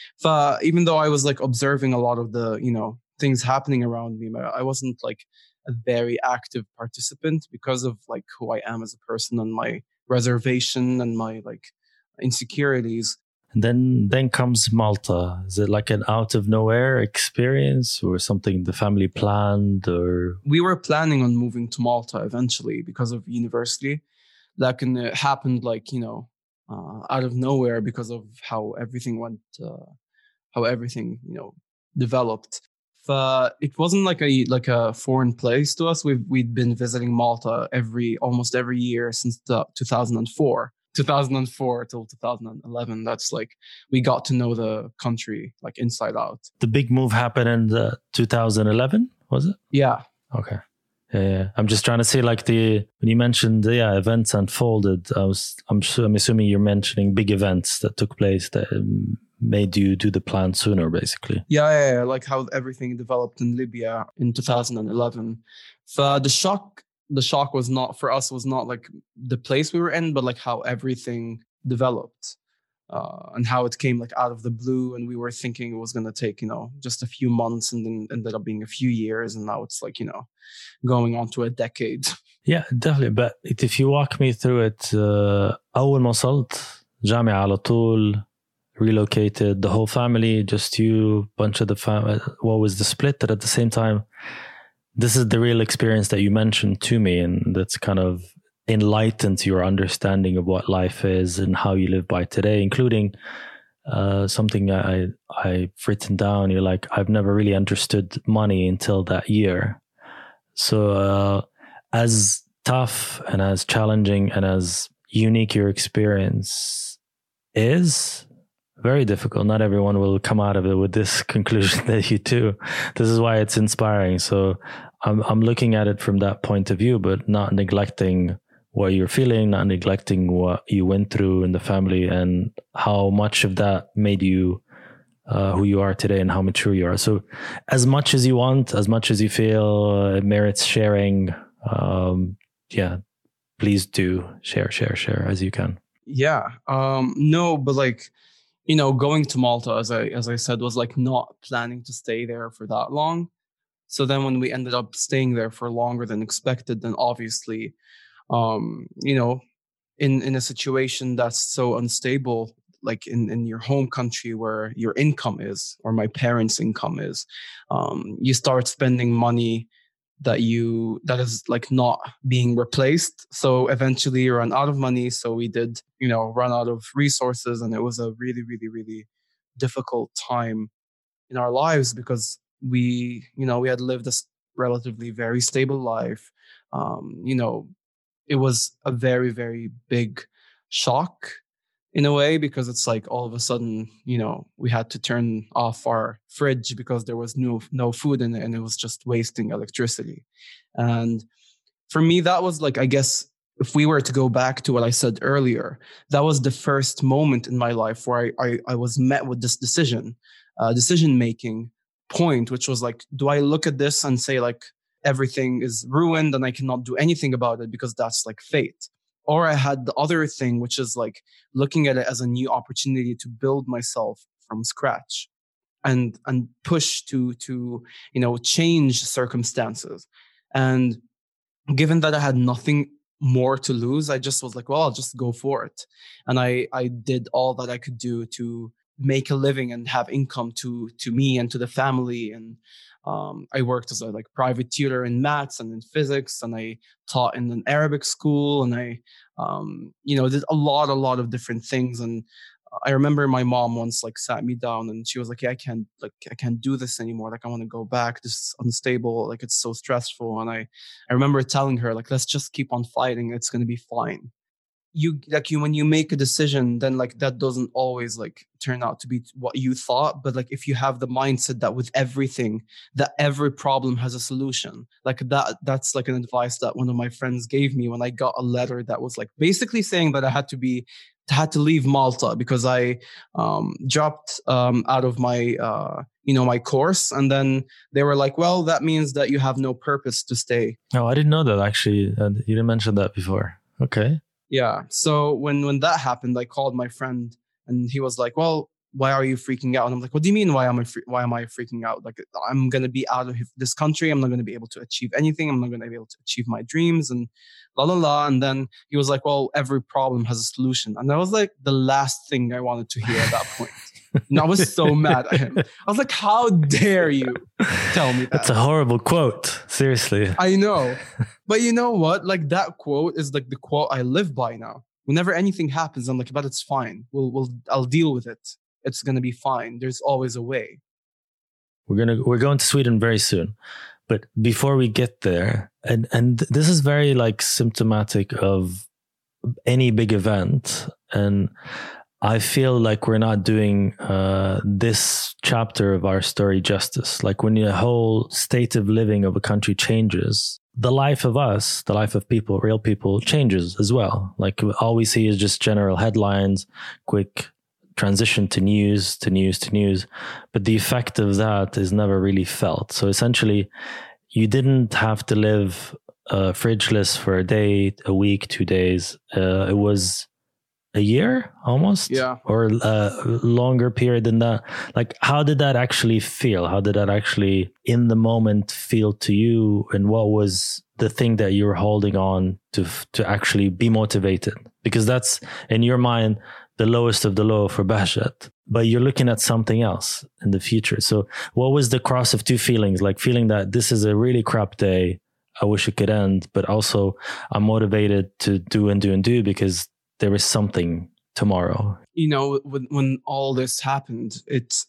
So even though I was like observing a lot of the, you know, things happening around me, I wasn't like a very active participant because of like who I am as a person and my reservation and my like insecurities. And then then comes Malta. Is it like an out of nowhere experience or something the family planned? Or we were planning on moving to Malta eventually because of university. That can uh, happened like, you know, uh, out of nowhere because of how everything went, uh, how everything, you know, developed. Uh, it wasn't like a like a foreign place to us. We've we'd been visiting Malta every almost every year since the two thousand four. two thousand four till two thousand eleven. That's like we got to know the country like inside out. The big move happened in uh, two thousand eleven, was it? Yeah. Okay. Yeah, yeah. I'm just trying to see like the when you mentioned yeah events unfolded. I was I'm I'm assuming you're mentioning big events that took place that um, made you do the plan sooner, basically. Yeah, yeah, yeah, like how everything developed in Libya in two thousand eleven. So the shock, the shock was not for us was not like the place we were in, but like how everything developed uh, and how it came like out of the blue. And we were thinking it was going to take, you know, just a few months, and then ended up being a few years. And now it's like, you know, going on to a decade. Yeah, definitely. But if you walk me through it, uh, أول ما وصلت جامعة على طول, relocated, the whole family, just you, bunch of the family. What was the split? That at the same time, this is the real experience that you mentioned to me, and that's kind of enlightened your understanding of what life is and how you live by today, including uh, something I, I've written down. You're like, I've never really understood money until that year. So uh, as tough and as challenging and as unique your experience is, very difficult. Not everyone will come out of it with this conclusion that you do. This is why it's inspiring. So I'm I'm looking at it from that point of view, but not neglecting what you're feeling, not neglecting what you went through in the family and how much of that made you uh, who you are today and how mature you are. So as much as you want, as much as you feel it merits sharing, um, yeah, please do share, share, share as you can. Yeah. Um, no, but like, you know, going to Malta, as I as I said, was like not planning to stay there for that long. So then when we ended up staying there for longer than expected, then obviously, um, you know, in, in a situation that's so unstable, like in, in your home country where your income is, or my parents' income is, um, you start spending money that you that is like not being replaced. So eventually you run out of money. So we did, you know, run out of resources, and it was a really, really, really difficult time in our lives because we, you know, we had lived a relatively very stable life. Um, you know, it was a very, very big shock in a way, because it's like all of a sudden, you know, we had to turn off our fridge because there was no no food in it, and it was just wasting electricity. And for me, that was like, I guess, if we were to go back to what I said earlier, that was the first moment in my life where I I, I was met with this decision, uh, decision making point, which was like, do I look at this and say like everything is ruined and I cannot do anything about it because that's like fate? Or I had the other thing, which is like looking at it as a new opportunity to build myself from scratch and and push to to you know change circumstances. And given that I had nothing more to lose, I just was like, well, I'll just go for it. And I I did all that I could do to make a living and have income to to me and to the family. And um, I worked as a like private tutor in maths and in physics, and I taught in an Arabic school, and I um, you know did a lot a lot of different things. And I remember my mom once like sat me down and she was like, yeah, I can't like I can't do this anymore. Like I want to go back. This is unstable. Like it's so stressful. And I I remember telling her like, let's just keep on fighting. It's gonna be fine. You like you when you make a decision, then like that doesn't always like turn out to be what you thought. But like if you have the mindset that with everything, that every problem has a solution, like that that's like an advice that one of my friends gave me when I got a letter that was like basically saying that I had to be had to leave Malta because I um, dropped um, out of my uh, you know my course. And then they were like, well, that means that you have no purpose to stay. Oh, I didn't know that actually. Uh, you didn't mention that before. Okay. Yeah. So when, when that happened, I called my friend and he was like, well, why are you freaking out? And I'm like, what do you mean? Why am I, fre- why am I freaking out? Like, I'm going to be out of this country. I'm not going to be able to achieve anything. I'm not going to be able to achieve my dreams and la, la, la. And then he was like, well, every problem has a solution. And that was like the last thing I wanted to hear at that point. And I was so mad at him. I was like, how dare you tell me that? That's a horrible quote. Seriously. I know. But you know what? Like that quote is like the quote I live by now. Whenever anything happens, I'm like, but it's fine. We'll, we'll, I'll deal with it. It's going to be fine. There's always a way. We're going to, we're going to Sweden very soon. But before we get there, and, and this is very like symptomatic of any big event. And I feel like we're not doing uh, this chapter of our story justice. Like when the whole state of living of a country changes, the life of us, the life of people, real people changes as well. Like all we see is just general headlines, quick transition to news, to news, to news. But the effect of that is never really felt. So essentially, you didn't have to live uh, fridgeless for a day, a week, two days. Uh, it was a year almost, yeah, or a longer period than that. Like, how did that actually feel? How did that actually in the moment feel to you? And what was the thing that you were holding on to, to actually be motivated? Because that's in your mind, the lowest of the low for Bahjat, but you're looking at something else in the future. So what was the cross of two feelings? Like feeling that this is a really crap day. I wish it could end, but also I'm motivated to do and do and do because there is something tomorrow. You know, when, when all this happened, it's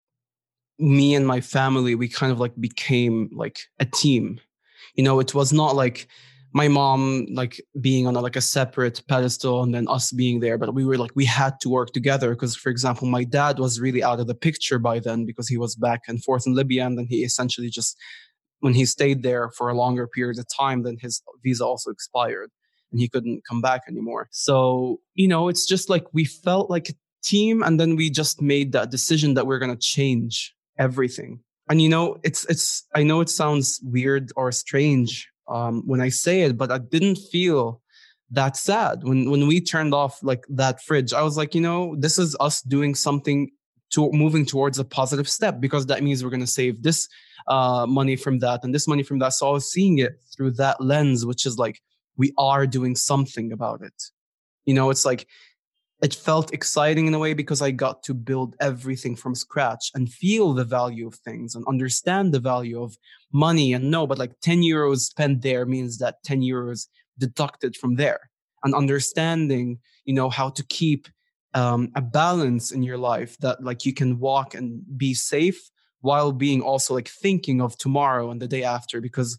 me and my family, we kind of like became like a team. You know, it was not like my mom like being on a, like a separate pedestal and then us being there, but we were like, we had to work together because, for example, my dad was really out of the picture by then because he was back and forth in Libya. And then he essentially just, when he stayed there for a longer period of time, then his visa also expired. And he couldn't come back anymore. So, you know, it's just like we felt like a team, and then we just made that decision that we're going to change everything. And, you know, it's, it's, I know it sounds weird or strange um, when I say it, but I didn't feel that sad. When, when we turned off like that fridge, I was like, you know, this is us doing something to moving towards a positive step, because that means we're going to save this uh, money from that and this money from that. So I was seeing it through that lens, which is like, we are doing something about it. You know, it's like, it felt exciting in a way because I got to build everything from scratch and feel the value of things and understand the value of money. And no, but like ten euros spent there means that ten euros deducted from there, and understanding, you know, how to keep um, a balance in your life that like you can walk and be safe while being also like thinking of tomorrow and the day after. Because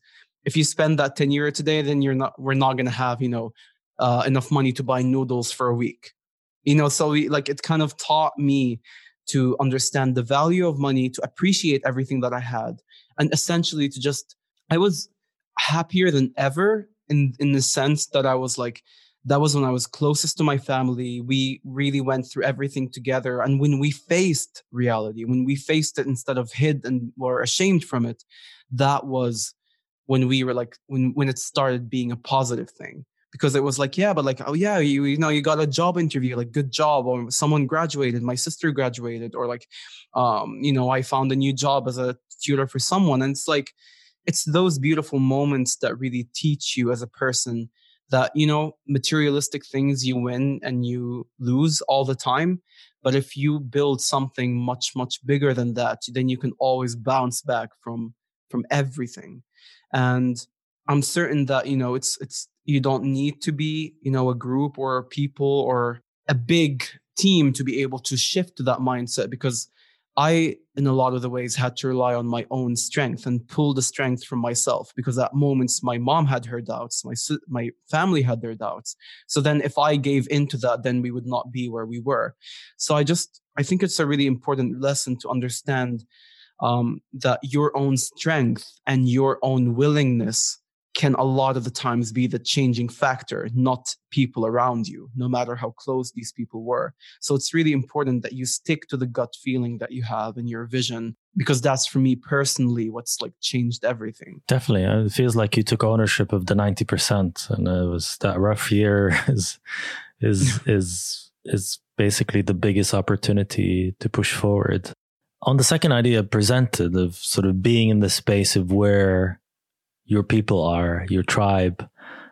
if you spend that ten euro today, then you're not, we're not going to have, you know, uh, enough money to buy noodles for a week. You know, so we, like, it kind of taught me to understand the value of money, to appreciate everything that I had, and essentially to just, I was happier than ever in, in the sense that I was like, that was when I was closest to my family. We really went through everything together. And when we faced reality, when we faced it instead of hid and were ashamed from it, that was when we were like, when, when it started being a positive thing. Because it was like, yeah, but like, oh yeah, you, you know, you got a job interview, like good job, or someone graduated, my sister graduated, or like, um, you know, I found a new job as a tutor for someone. And it's like, it's those beautiful moments that really teach you as a person that, you know, materialistic things you win and you lose all the time. But if you build something much, much bigger than that, then you can always bounce back from, from everything. And I'm certain that, you know, it's, it's, you don't need to be, you know, a group or people or a big team to be able to shift to that mindset, because I, in a lot of the ways, had to rely on my own strength and pull the strength from myself, because at moments my mom had her doubts, my my family had their doubts. So then if I gave into that, then we would not be where we were. So I just, I think it's a really important lesson to understand um, that your own strength and your own willingness can a lot of the times be the changing factor, not people around you, no matter how close these people were. So it's really important that you stick to the gut feeling that you have in your vision, because that's, for me personally, what's like changed everything. Definitely. It feels like you took ownership of the ninety percent, and it was that rough year is, is, is, is basically the biggest opportunity to push forward. On the second idea presented of sort of being in the space of where your people are, your tribe,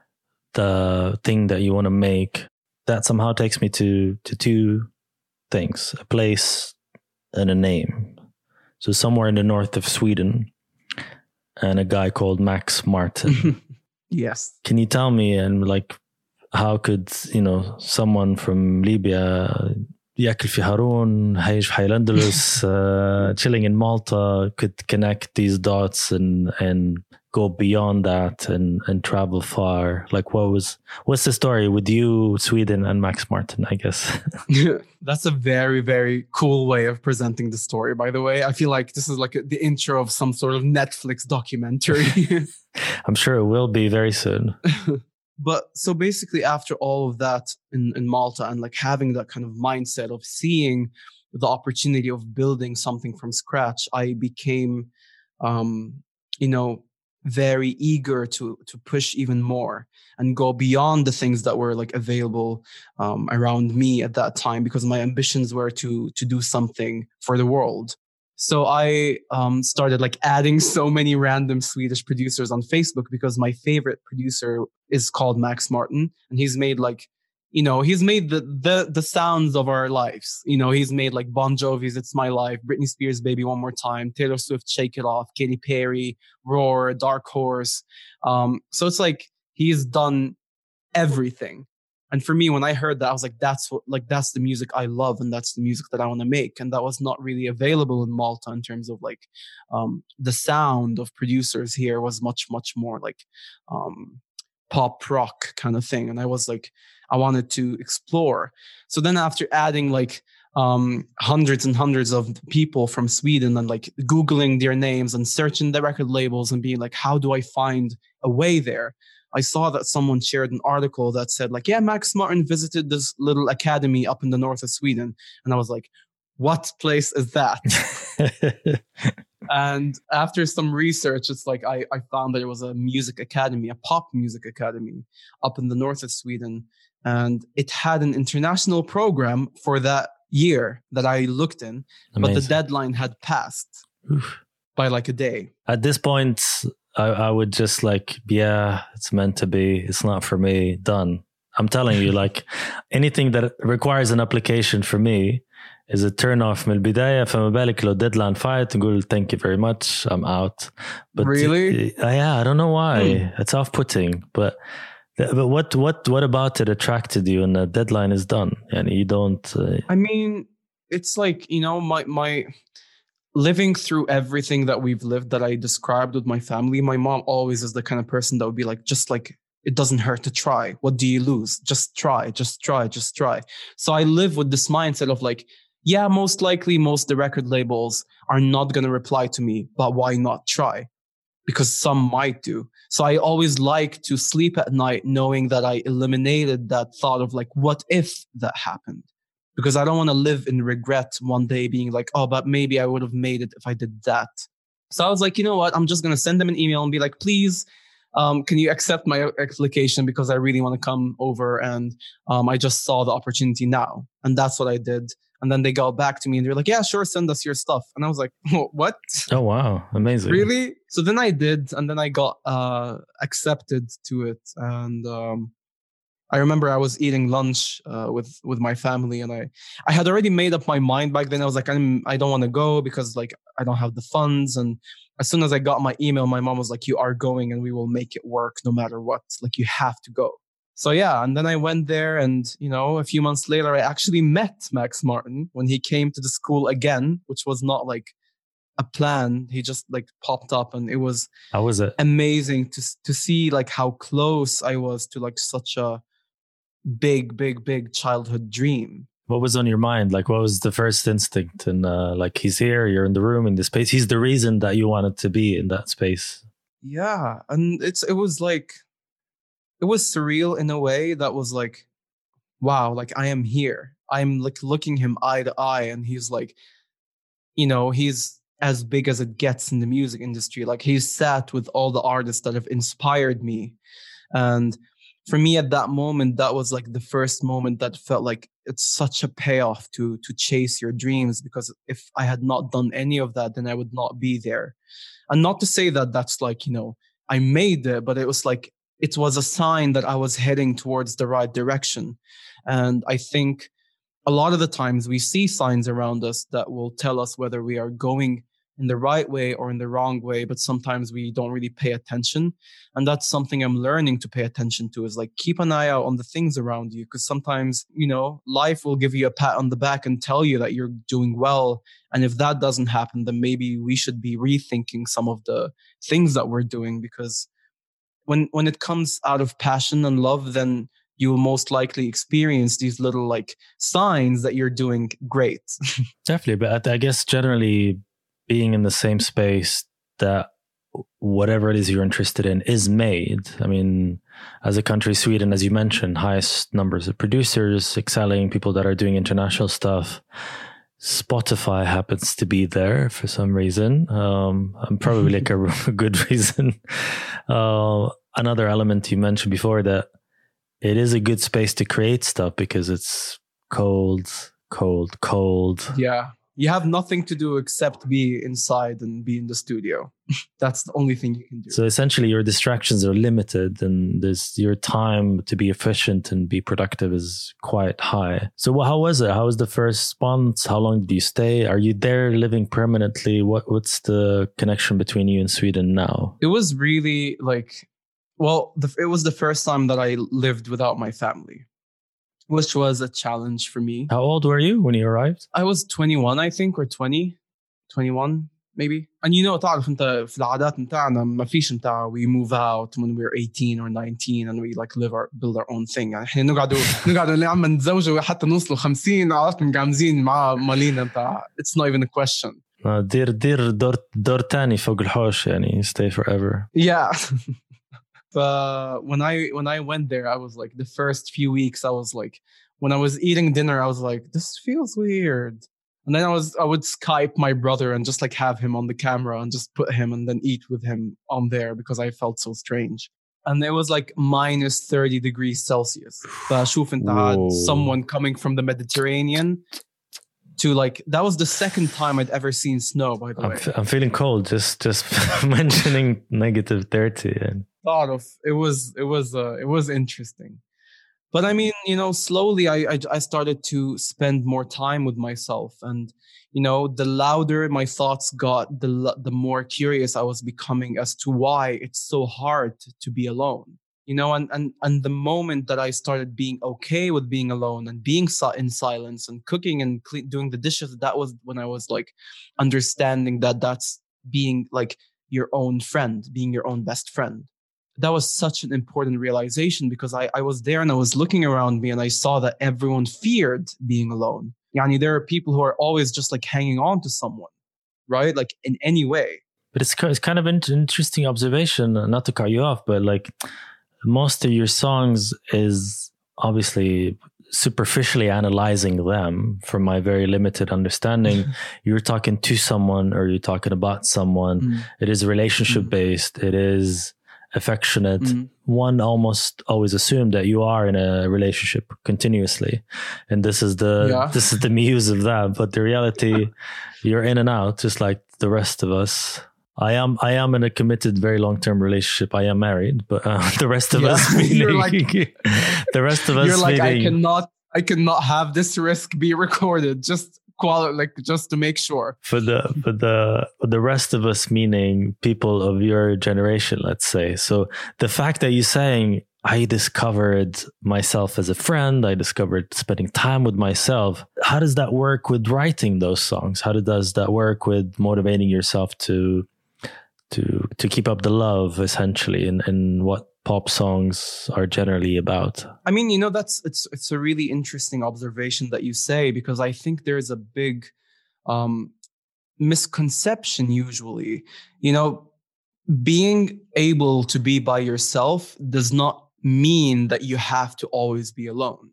the thing that you want to make, that somehow takes me to, to two things, a place and a name. So somewhere in the north of Sweden, and a guy called Max Martin. Yes. Can you tell me, and like, how could, you know, someone from Libya, ياكل في هارون, عايش في Al-Andalus, uh, chilling in Malta, could connect these dots and and go beyond that and and travel far? Like, what was what's the story with you, Sweden, and Max Martin, I guess? That's a very, very cool way of presenting the story, by the way. I feel like this is like a, the intro of some sort of Netflix documentary. I'm sure it will be very soon. But so basically, after all of that in, in Malta, and like having that kind of mindset of seeing the opportunity of building something from scratch, I became, um, you know, very eager to to push even more and go beyond the things that were like available um, around me at that time, because my ambitions were to to do something for the world. So I um, started like adding so many random Swedish producers on Facebook, because my favorite producer is called Max Martin, and he's made like, you know, he's made the the the sounds of our lives. You know, he's made like Bon Jovi's "It's My Life," Britney Spears' "Baby One More Time," Taylor Swift "Shake It Off," Katy Perry, Roar, Dark Horse. Um, so it's like he's done everything. And for me, when I heard that, I was like, that's what, like, that's the music I love, and that's the music that I want to make. And that was not really available in Malta in terms of like um, the sound of producers here was much, much more like um, pop rock kind of thing. And I was like, I wanted to explore. So then after adding like um, hundreds and hundreds of people from Sweden and like Googling their names and searching the record labels and being like, how do I find a way there? I saw that someone shared an article that said like, yeah, Max Martin visited this little academy up in the north of Sweden. And I was like, what place is that? And after some research, it's like I, I found that it was a music academy, a pop music academy up in the north of Sweden. And it had an international program for that year that I looked in. Amazing. But the deadline had passed Oof. by like a day. At this point, I, I would just like, yeah, it's meant to be. It's not for me. Done. I'm telling you, like anything that requires an application for me is a turn off من البداية. فما بالك لو deadline fight نقول thank you very much, I'm out. But really? Uh, yeah, I don't know why. Mm. It's off-putting. But but what what what about it attracted you? And the deadline is done, and you don't. Uh, I mean, it's like, you know, my my. living through everything that we've lived that I described with my family, my mom always is the kind of person that would be like, just like, it doesn't hurt to try. What do you lose? Just try, just try, just try. So I live with this mindset of like, yeah, most likely most of the record labels are not going to reply to me, but why not try? Because some might do. So I always like to sleep at night knowing that I eliminated that thought of like, what if that happened? Because I don't want to live in regret one day being like, oh, but maybe I would have made it if I did that. So I was like, you know what? I'm just going to send them an email and be like, please, um, can you accept my application? Because I really want to come over. And um, I just saw the opportunity now. And that's what I did. And then they got back to me and they're like, yeah, sure, send us your stuff. And I was like, what? Oh, wow. Amazing. Really? So then I did. And then I got uh, accepted to it. And um, I remember I was eating lunch uh, with, with my family. And I, I had already made up my mind back then. I was like, I'm, I don't want to go because like I don't have the funds. And as soon as I got my email, my mom was like, you are going and we will make it work no matter what. Like you have to go. So yeah, and then I went there and, you know, a few months later, I actually met Max Martin when he came to the school again, which was not like a plan. He just like popped up and it was, how was it? Amazing to to see like how close I was to like such a big, big, big childhood dream. What was on your mind? Like, what was the first instinct? And uh, like, he's here, you're in the room, in the space. He's the reason that you wanted to be in that space. Yeah. And it's it was like, it was surreal in a way that was like, wow, like I am here. I'm like looking him eye to eye and he's like, you know, he's as big as it gets in the music industry. Like he's sat with all the artists that have inspired me. And for me at that moment, that was like the first moment that felt like it's such a payoff to, to chase your dreams. Because if I had not done any of that, then I would not be there. And not to say that that's like, you know, I made it, but it was like, it was a sign that I was heading towards the right direction. And I think a lot of the times we see signs around us that will tell us whether we are going in the right way or in the wrong way, but sometimes we don't really pay attention. And that's something I'm learning to pay attention to, is like keep an eye out on the things around you. Because sometimes, you know, life will give you a pat on the back and tell you that you're doing well. And if that doesn't happen, then maybe we should be rethinking some of the things that we're doing. Because When when it comes out of passion and love, then you will most likely experience these little like signs that you're doing great. Definitely. But I guess generally being in the same space that whatever it is you're interested in is made. I mean, as a country, Sweden, as you mentioned, highest numbers of producers, excelling, people that are doing international stuff. Spotify happens to be there for some reason, um, and probably like a, a good reason. Uh, another element you mentioned before, that it is a good space to create stuff because it's cold, cold, cold. Yeah. You have nothing to do except be inside and be in the studio. That's the only thing you can do. So essentially your distractions are limited and there's your time to be efficient and be productive is quite high. So how was it? How was the first month? How long did you stay? Are you there living permanently? What What's the connection between you and Sweden now? It was really like, well, the, it was the first time that I lived without my family, which was a challenge for me. How old were you when you arrived? I was twenty-one, I think, or twenty, twenty-one maybe. And you know, تعرف انت في العادات نتاعنا ما فيش نتاع we move out when we're eighteen or nineteen and we like live our build our own thing. يعني احنا نقعدوا نقعدوا اللي عم نتزوجوا حتى نوصلوا خمسين عرفت مقامزين مع مالينا نتاع. It's not even a question. دير دير دور دور تاني فوق الحوش يعني stay forever. Yeah. But when I when I went there, I was like, the first few weeks, I was like, when I was eating dinner, I was like, this feels weird. And then I was I would Skype my brother and just like have him on the camera and just put him and then eat with him on there because I felt so strange. And it was like minus thirty degrees Celsius. فشوف انت had someone coming from the Mediterranean to like, that was the second time I'd ever seen snow, by the I'm way. F- I'm feeling cold just just mentioning negative thirty. And thought of it was it was uh, it was interesting. But I mean, you know, slowly I, I I started to spend more time with myself, and you know, the louder my thoughts got, the the more curious I was becoming as to why it's so hard to be alone. You know, and, and and the moment that I started being okay with being alone and being si- in silence and cooking and cle- doing the dishes, that was when I was like understanding that that's being like your own friend, being your own best friend. That was such an important realization, because I, I was there and I was looking around me and I saw that everyone feared being alone. Yani, there are people who are always just like hanging on to someone, right? Like in any way. But it's, it's kind of an interesting observation, not to cut you off, but like, most of your songs is obviously superficially analyzing them from my very limited understanding. You're talking to someone or you're talking about someone. Mm. It is relationship mm. based. It is affectionate. Mm. One almost always assumed that you are in a relationship continuously. And this is the, yeah. this is the muse of that. But the reality, you're in and out, just like the rest of us. I am I am in a committed, very long-term relationship. I am married, but uh, the rest of yeah. us, meaning, like, the rest of us, you're like, meaning, I cannot, I cannot have this risk be recorded. Just quali- like just to make sure. For the for the for the rest of us, meaning people of your generation, let's say. So the fact that you're saying, I discovered myself as a friend, I discovered spending time with myself. How does that work with writing those songs? How does that work with motivating yourself to to to keep up the love, essentially, and and what pop songs are generally about? I mean, you know, that's it's it's a really interesting observation that you say, because I think there's a big um, misconception usually. You know, being able to be by yourself does not mean that you have to always be alone.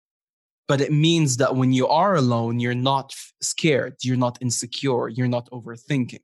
But it means that when you are alone, you're not scared, you're not insecure, you're not overthinking.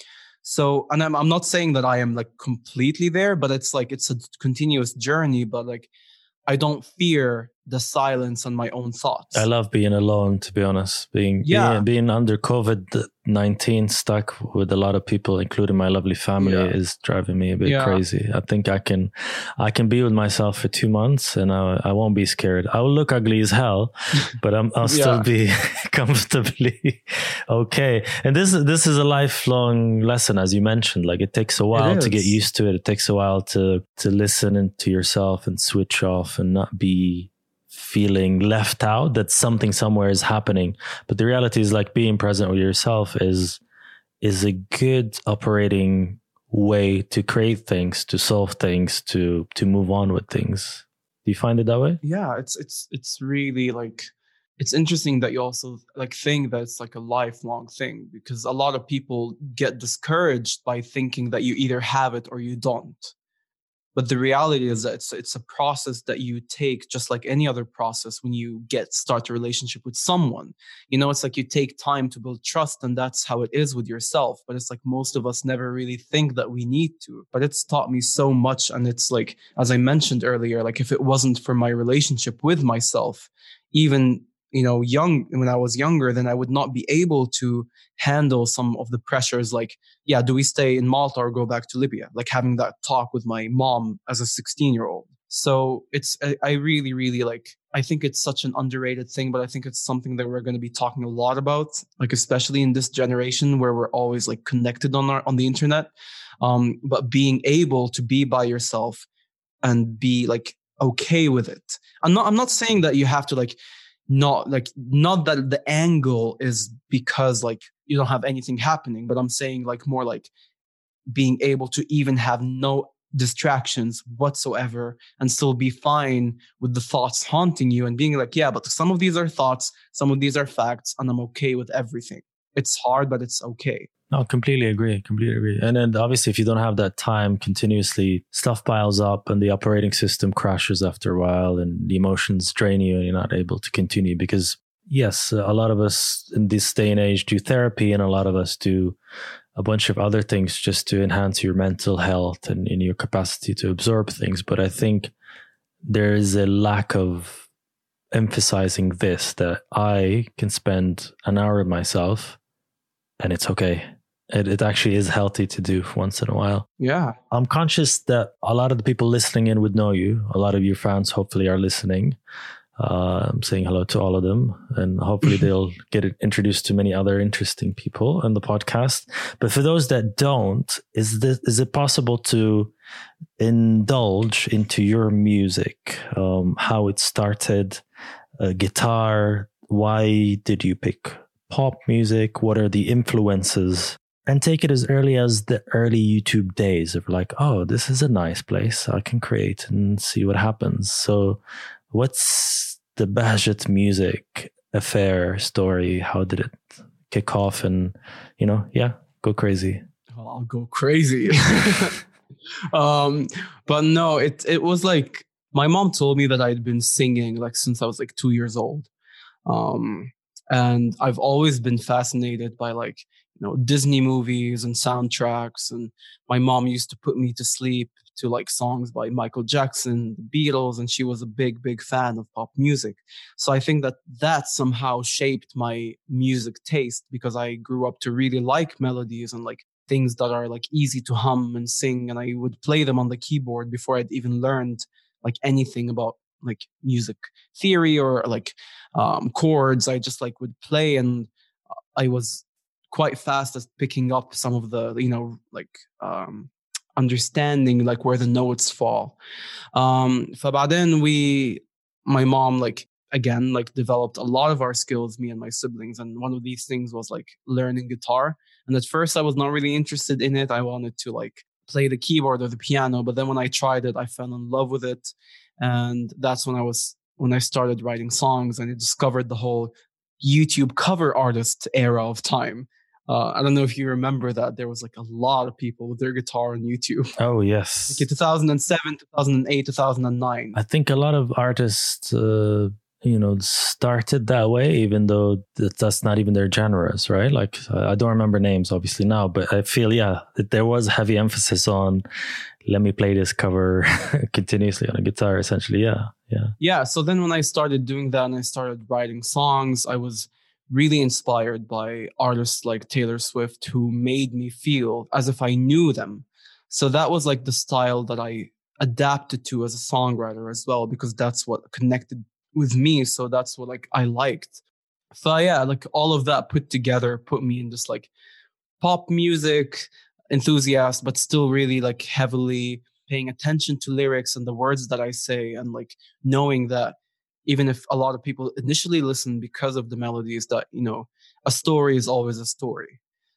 So, and I'm I'm not saying that I am like completely there, but it's like it's a continuous journey. But like, I don't fear the silence and my own thoughts. I love being alone, to be honest. Being yeah. being, being under COVID nineteen, stuck with a lot of people, including my lovely family, yeah. is driving me a bit yeah. crazy. I think I can I can be with myself for two months and I, I won't be scared. I will look ugly as hell, but I'm, I'll still yeah. be comfortably okay. And this this is a lifelong lesson, as you mentioned. Like, it takes a while to get used to it. It takes a while to to listen to yourself and switch off and not be feeling left out, that something somewhere is happening. But the reality is, like, being present with yourself is is a good operating way to create things, to solve things, to to move on with things. Do you find it that way? Yeah, it's it's it's really like, it's interesting that you also like think that it's like a lifelong thing, because a lot of people get discouraged by thinking that you either have it or you don't. But the reality is that it's it's a process that you take, just like any other process when you get start a relationship with someone. You know, it's like you take time to build trust, and that's how it is with yourself. But it's like most of us never really think that we need to. But it's taught me so much. And it's like, as I mentioned earlier, like if it wasn't for my relationship with myself, even, you know, young, when I was younger, then I would not be able to handle some of the pressures. Like, yeah, do we stay in Malta or go back to Libya? Like having that talk with my mom as a sixteen year old. So it's, I, I really, really like, I think it's such an underrated thing, but I think it's something that we're going to be talking a lot about, like, especially in this generation where we're always like connected on our, on the internet. Um, but being able to be by yourself and be like, okay with it. I'm not, I'm not saying that you have to like, not like, not that the angle is because like you don't have anything happening, but I'm saying like more like being able to even have no distractions whatsoever and still be fine with the thoughts haunting you, and being like, yeah, but some of these are thoughts, some of these are facts, and I'm okay with everything. It's hard, but it's okay. No, completely agree. Completely agree. And then obviously, if you don't have that time, continuously stuff piles up and the operating system crashes after a while and the emotions drain you and you're not able to continue. Because yes, a lot of us in this day and age do therapy, and a lot of us do a bunch of other things just to enhance your mental health and in your capacity to absorb things. But I think there is a lack of emphasizing this, that I can spend an hour with myself and it's okay. It, it actually is healthy to do once in a while. Yeah. I'm conscious that a lot of the people listening in would know you. A lot of your fans hopefully are listening. Uh, I'm saying hello to all of them, and hopefully they'll get introduced to many other interesting people on the podcast. But for those that don't, is this, is it possible to indulge into your music, um, how it started, uh, guitar? Why did you pick pop music? What are the influences? And take it as early as the early YouTube days of like, oh, this is a nice place I can create and see what happens. So what's the Bahjat music affair story? How did it kick off? And, you know, yeah, go crazy. Well, I'll go crazy. um, but no, it it was like, my mom told me that I'd been singing like since I was like two years old. Um, and I've always been fascinated by like, you know, Disney movies and soundtracks. And my mom used to put me to sleep to like songs by Michael Jackson, the Beatles, and she was a big, big fan of pop music. So I think that that somehow shaped my music taste, because I grew up to really like melodies and like things that are like easy to hum and sing. And I would play them on the keyboard before I'd even learned like anything about like music theory or like um, chords. I just like would play, and I was quite fast at picking up some of the, you know, like um, understanding like where the notes fall. Um, فبعدين we, my mom like again like developed a lot of our skills, me and my siblings, and one of these things was like learning guitar. And at first I was not really interested in it. I wanted to like play the keyboard or the piano, but then when I tried it, I fell in love with it. And that's when I was when I started writing songs, and I discovered the whole YouTube cover artist era of time. Uh, I don't know if you remember that there was like a lot of people with their guitar on YouTube. Oh, yes. Like in two thousand seven, two thousand eight, two thousand nine. I think a lot of artists, uh, you know, started that way, even though that's not even their genres, right? Like, I don't remember names, obviously, now, but I feel, yeah, that there was heavy emphasis on, let me play this cover continuously on a guitar, essentially. Yeah, yeah. Yeah, so then when I started doing that and I started writing songs, I was really inspired by artists like Taylor Swift, who made me feel as if I knew them. So that was like the style that I adapted to as a songwriter as well, because that's what connected with me. So that's what like I liked. So yeah, like all of that put together put me in this like pop music enthusiast, but still really like heavily paying attention to lyrics and the words that I say, and like knowing that even if a lot of people initially listen because of the melodies, that, you know, a story is always a story.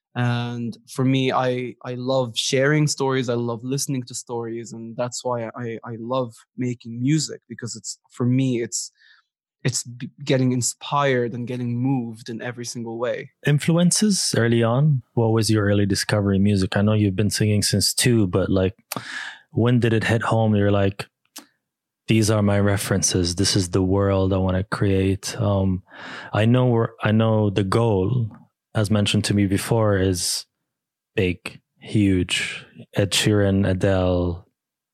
And for me, I, I love sharing stories. I love listening to stories. And that's why I, I love making music, because it's, for me, it's, it's getting inspired and getting moved in every single way. Influences early on? What was your early discovery music? I know you've been singing since two, but like, when did it hit home? You're like, these are my references. This is the world I want to create. Um, I know where, I know the goal, as mentioned to me before, is big, huge. Ed Sheeran, Adele,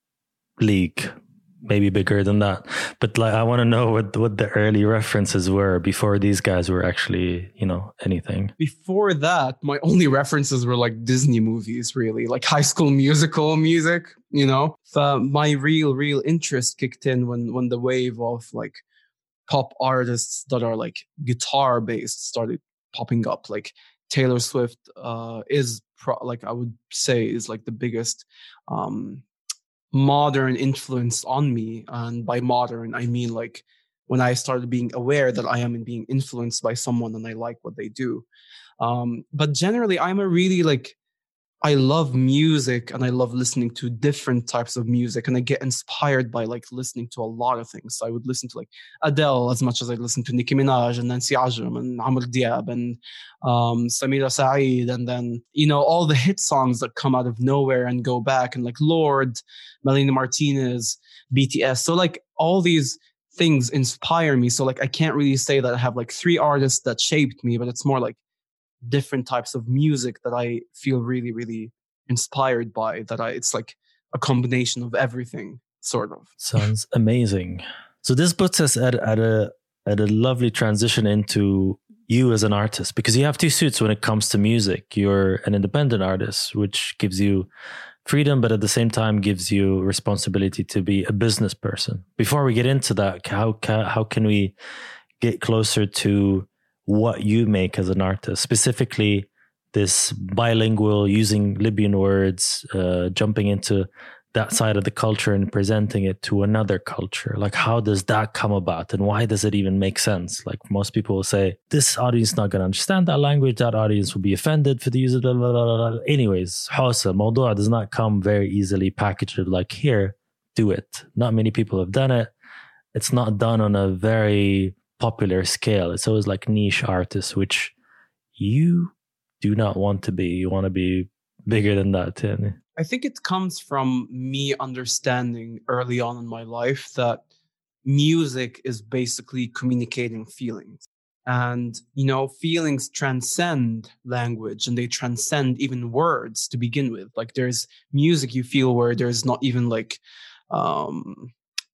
League, maybe bigger than that. But like, I want to know what what the early references were before these guys were actually, you know, anything. Before that, my only references were like Disney movies, really, like High School Musical music, you know. So my real, real interest kicked in when when the wave of like pop artists that are like guitar based started popping up. Like Taylor Swift uh, is pro- like I would say is like the biggest um, modern influence on me. And by modern, I mean like when I started being aware that I am being influenced by someone and I like what they do. Um, but generally, I'm a really like, I love music and I love listening to different types of music, and I get inspired by like listening to a lot of things. So I would listen to like Adele as much as I listen to Nicki Minaj and Nancy Ajram and Amr Diab and um, Samira Saeed, and then, you know, all the hit songs that come out of nowhere and go back, and like Lorde, Melanie Martinez, B T S. So like all these things inspire me. So like I can't really say that I have like three artists that shaped me, but it's more like different types of music that I feel really, really inspired by, that I, it's like a combination of everything, sort of. Sounds amazing. So this puts us at, at a, at a lovely transition into you as an artist, because you have two suits when it comes to music. You're an independent artist, which gives you freedom, but at the same time gives you responsibility to be a business person. Before we get into that, how ca- how can we get closer to what you make as an artist, specifically this bilingual, using Libyan words, uh, jumping into that side of the culture and presenting it to another culture? Like, how does that come about, and why does it even make sense? Like, most people will say, this audience is not going to understand that language, that audience will be offended for the use of blah, blah, blah, blah. Anyways, Hausa, Mawdua does not come very easily packaged like, here, do it. Not many people have done it. It's not done on a very popular scale. It's always like niche artists, which you do not want to be. You want to be bigger than that. Yeah. I think it comes from me understanding early on in my life that music is basically communicating feelings. And, you know, feelings transcend language, and they transcend even words to begin with. Like, there's music you feel where there's not even like um,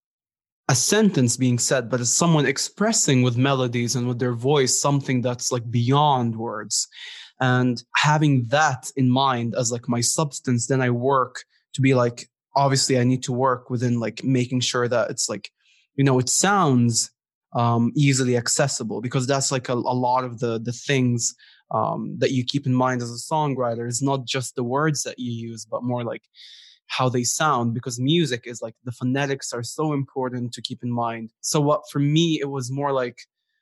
a sentence being said, but it's someone expressing with melodies and with their voice something that's like beyond words. And having that in mind as like my substance, then I work to be like, obviously I need to work within like making sure that it's like, you know, it sounds um, easily accessible, because that's like a, a lot of the, the things um, that you keep in mind as a songwriter. Is not just the words that you use, but more like how they sound, because music is like, the phonetics are so important to keep in mind. So what, for me, it was more like,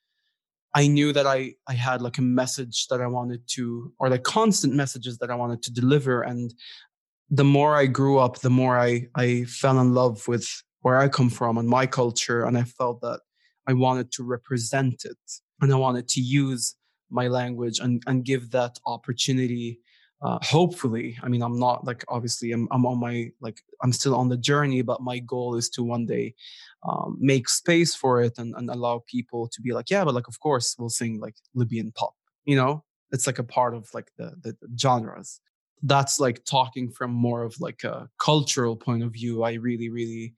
I knew that I, I had like a message that I wanted to, or like constant messages that I wanted to deliver. And the more I grew up, the more I, I fell in love with where I come from and my culture. And I felt that I wanted to represent it, and I wanted to use my language and, and give that opportunity. Uh, hopefully, I mean, I'm not like, obviously I'm, I'm on my, like, I'm still on the journey, but my goal is to one day um, make space for it and, and allow people to be like, yeah, but like, of course we'll sing like Libyan pop, you know, it's like a part of like the, the, the genres. That's like talking from more of like a cultural point of view. I really, really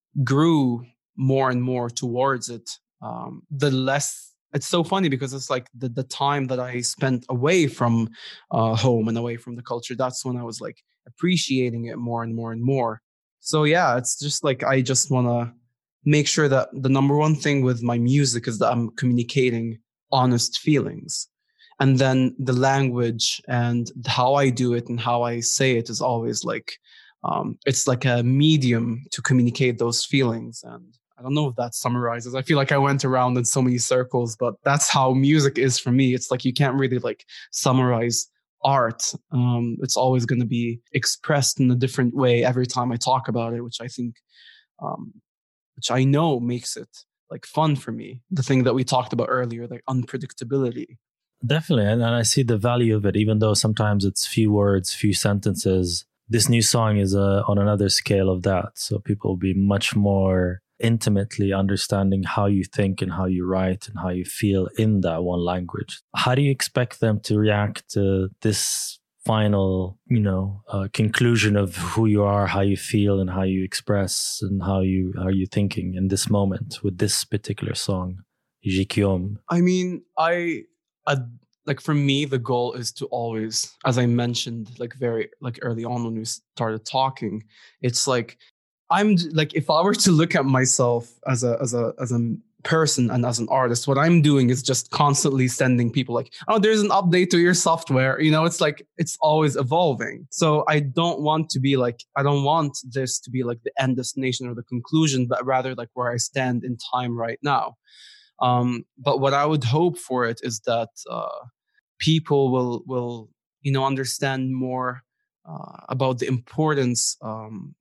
grew more and more towards it. Um, the less, it's so funny because it's like the, the time that I spent away from uh, home and away from the culture, that's when I was like appreciating it more and more and more. So yeah, it's just like, I just want to make sure that the number one thing with my music is that I'm communicating honest feelings. And then the language and how I do it and how I say it is always like, um, it's like a medium to communicate those feelings. And I don't know if that summarizes. I feel like I went around in so many circles, but that's how music is for me. It's like, you can't really like summarize art. Um, it's always going to be expressed in a different way every time I talk about it, which I think, um, which I know makes it like fun for me. The thing that we talked about earlier, like unpredictability. Definitely. And, and I see the value of it, even though sometimes it's few words, few sentences. This new song is uh, on another scale of that. So people will be much more intimately understanding how you think and how you write and how you feel in that one language. How do you expect them to react to this final, you know, uh, conclusion of who you are, how you feel and how you express and how you how you thinking in this moment with this particular song, Jikiom? I mean, I, I like for me, the goal is to always, as I mentioned, like very like early on when we started talking, it's like, I'm like, if I were to look at myself as a as a as a person and as an artist, what I'm doing is just constantly sending people like, oh, there's an update to your software. You know, it's like, it's always evolving. So I don't want to be like, I don't want this to be like the end destination or the conclusion, but rather like where I stand in time right now. Um, but what I would hope for it is that uh, people will will you know understand more uh, about the importance um,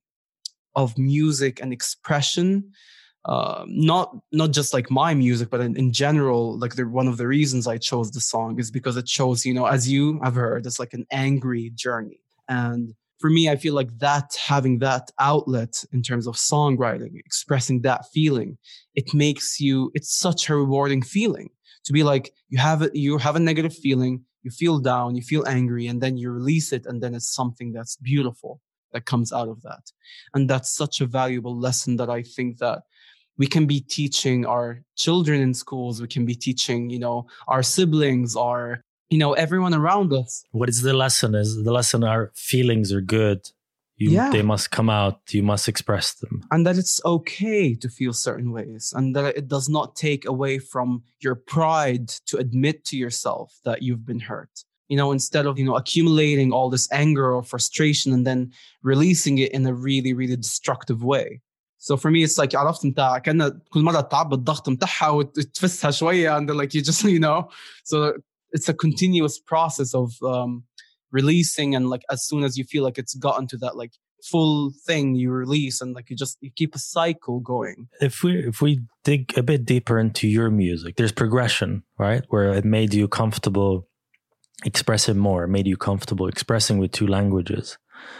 of music and expression, uh, not not just like my music, but in, in general. Like the, one of the reasons I chose the song is because it shows, you know, as you have heard, it's like an angry journey. And for me, I feel like that, having that outlet in terms of songwriting, expressing that feeling, it makes you, it's such a rewarding feeling to be like, you have it, you have a negative feeling, you feel down, you feel angry, and then you release it, and then it's something that's beautiful that comes out of that. And that's such a valuable lesson that I think that we can be teaching our children in schools. We can be teaching, you know, our siblings, our, you know, everyone around us. What is the lesson? Is the lesson our feelings are good? You, Yeah. They must come out. You must express them. And that it's okay to feel certain ways, and that it does not take away from your pride to admit to yourself that you've been hurt. You know, instead of, you know, accumulating all this anger or frustration and then releasing it in a really, really destructive way. So for me, it's like عرفت انت كأن كل مرة تعب الضغط متاعها وتفسها شوية, and then like you just, you know, so it's a continuous process of um, releasing, and like as soon as you feel like it's gotten to that like full thing, you release, and like you just you keep a cycle going. If we if we dig a bit deeper into your music, there's progression, right? Where it made you comfortable expressing more, made you comfortable expressing with two languages.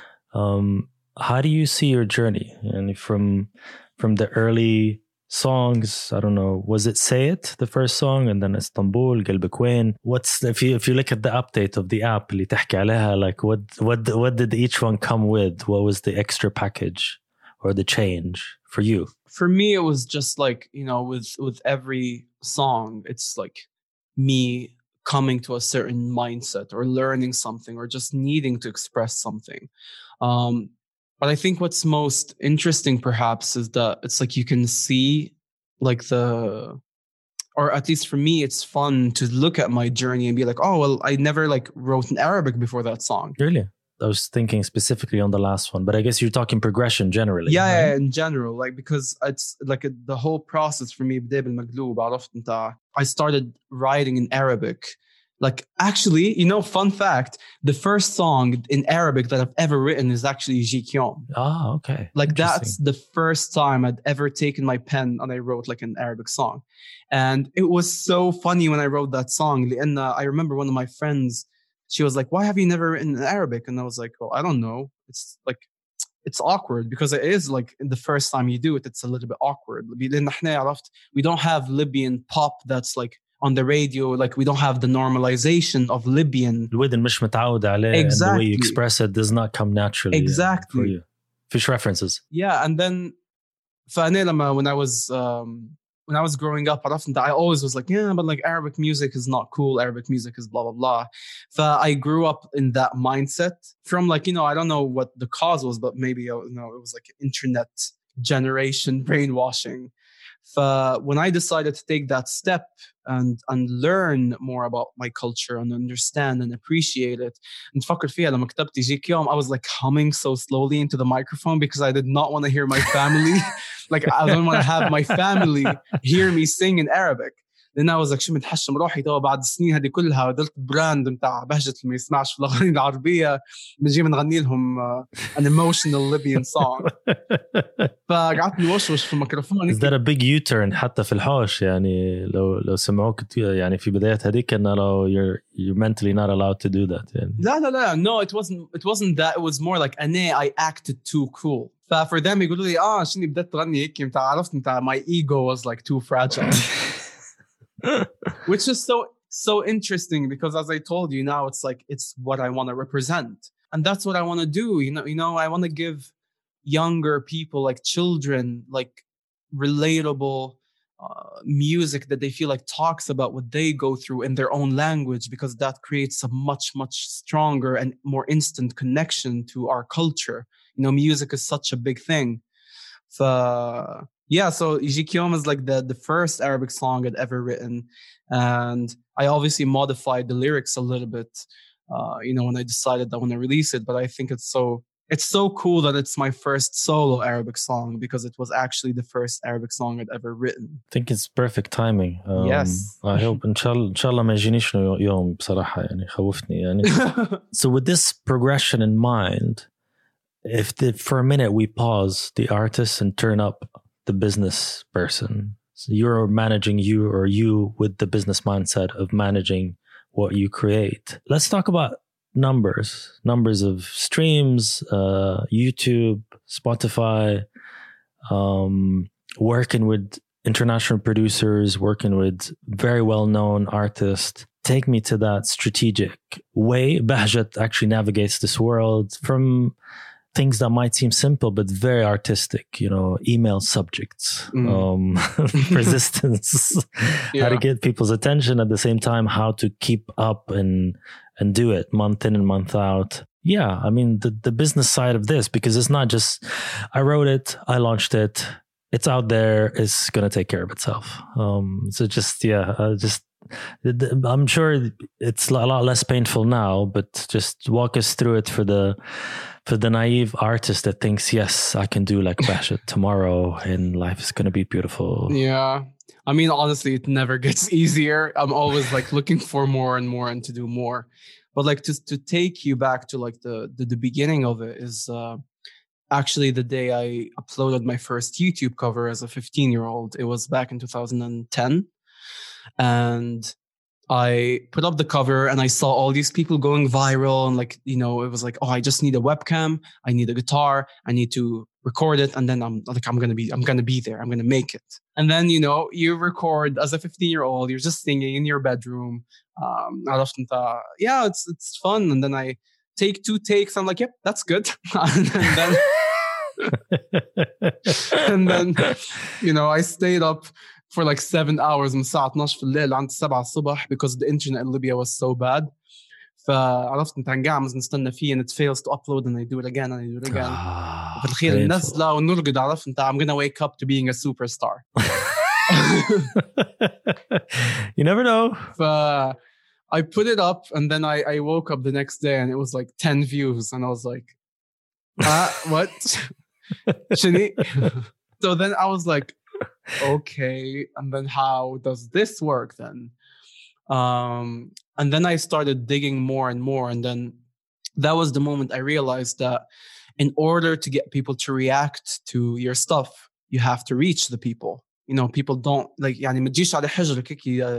Um, how do you see your journey? And from from the early songs, I don't know, was it Say It, the first song, and then Istanbul, قلبك وين? What's if you if you look at the update of the app اللي تحكي عليها, like what what what did each one come with? What was the extra package or the change for you? For me, it was just like, you know, with with every song, it's like me coming to a certain mindset or learning something or just needing to express something. Um, but I think what's most interesting perhaps is that it's like you can see like the, or at least for me, it's fun to look at my journey and be like, oh, well, I never like wrote in Arabic before that song. Really? I was thinking specifically on the last one, but I guess you're talking progression generally. Yeah, right? yeah, in general, like because it's like a, the whole process for me. بدأ بالمقلوب عرفت انت. I started writing in Arabic. Like actually, you know, fun fact: the first song in Arabic that I've ever written is actually يجيك يوم. Ah, okay. Like that's the first time I'd ever taken my pen and I wrote like an Arabic song, and it was so funny when I wrote that song. لأن I remember one of my friends. She was like, why have you never written in Arabic? And I was like, well, I don't know. It's like, it's awkward because it is like the first time you do it, it's a little bit awkward. We don't have Libyan pop that's like on the radio. Like we don't have the normalization of Libyan. الودن مش متعود عليه. Exactly. And the way you express it does not come naturally. Exactly. For you. Fish references. Yeah. And then فأنا لما when I was, um, when I was growing up, I always was like, yeah, but like Arabic music is not cool. Arabic music is blah, blah, blah. So I grew up in that mindset from like, you know, I don't know what the cause was, but maybe, you know, it was like internet generation brainwashing. So when I decided to take that step and and learn more about my culture and understand and appreciate it, and فكر فيها لما كتبت يجيك يوم, I was like humming so slowly into the microphone because I did not want to hear my family. Like I don't want to have my family hear me sing in Arabic. Then I was like شو متحشم روحي تو بعد السنين هذه كلها ودلت براند متاع بهجة اللي ما يسمعش في الأغاني العربية بنجي بنغني لهم uh, an emotional Libyan song. فقعدت نوشوش في الميكروفون. Is that a big U-turn حتى في الحوش يعني لو لو سمعوك يعني في بدايات هذيك إنه لو you're you're mentally not allowed to do that يعني. لا لا لا no it wasn't it wasn't that, it was more like أنا I acted too cool. فfor them يقولوا لي آه شني بدأت تغني هيك متاع عرفت متاع my ego was like too fragile. Which is so so interesting because as I told you now it's like it's what I want to represent and that's what I want to do. You know, you know, I want to give younger people like children like relatable uh, music that they feel like talks about what they go through in their own language, because that creates a much much stronger and more instant connection to our culture. You know, music is such a big thing. So yeah, so يجيك يوم is like the, the first Arabic song I'd ever written. And I obviously modified the lyrics a little bit, uh, you know, when I decided I want to release it. But I think it's so it's so cool that it's my first solo Arabic song because it was actually the first Arabic song I'd ever written. I think it's perfect timing. Um, yes. I hope إن شاء الله إن شاء الله ما يجينيش يوم بصراحة يعني خوفتني يعني. So with this progression in mind, if the, for a minute we pause the artist and turn up the business person, so you're managing you or you with the business mindset of managing what you create. Let's talk about numbers, numbers of streams, uh, YouTube, Spotify, um, working with international producers, working with very well-known artists. Take me to that strategic way Bahjat actually navigates this world from things that might seem simple but very artistic, you know, email subjects, mm. um, persistence, yeah. How to get people's attention at the same time, how to keep up and and do it month in and month out. Yeah, I mean, the, the business side of this, because it's not just, I wrote it, I launched it, it's out there, it's going to take care of itself. Um, so just, yeah, uh, just, I'm sure it's a lot less painful now, but just walk us through it for the, for the naive artist that thinks, yes, I can do like Bashit tomorrow and life is going to be beautiful. Yeah. I mean, honestly, it never gets easier. I'm always like looking for more and more and to do more. But like to to take you back to like the the, the beginning of it is uh, actually the day I uploaded my first YouTube cover as a fifteen year old. It was back in two thousand ten. And I put up the cover and I saw all these people going viral. And like, you know, it was like, oh, I just need a webcam. I need a guitar. I need to record it. And then I'm like, I'm going to be, I'm going to be there. I'm going to make it. And then, you know, you record as a fifteen year old, you're just singing in your bedroom. Um, yeah, it's, it's fun. And then I take two takes. I'm like, yep, that's good. and then, and then, you know, I stayed up for like seven hours من الساعة اثناشر في الليل عند سبعة الصبح because the internet in Libya was so bad. فعرفت انت قاعد نستنى فيه and it fails to upload and I do it again and I do it again. Ah, وفي الأخير ننزله ونرقد عرفت انت I'm gonna wake up to being a superstar. You never know. ف I put it up and then I, I woke up the next day and it was like ten views and I was like, ah, what? Shani? So then I was like, okay, and then how does this work then? Um, and then I started digging more and more. And then that was the moment I realized that in order to get people to react to your stuff, you have to reach the people. You know, people don't like, يعني ما تجيش على حجرك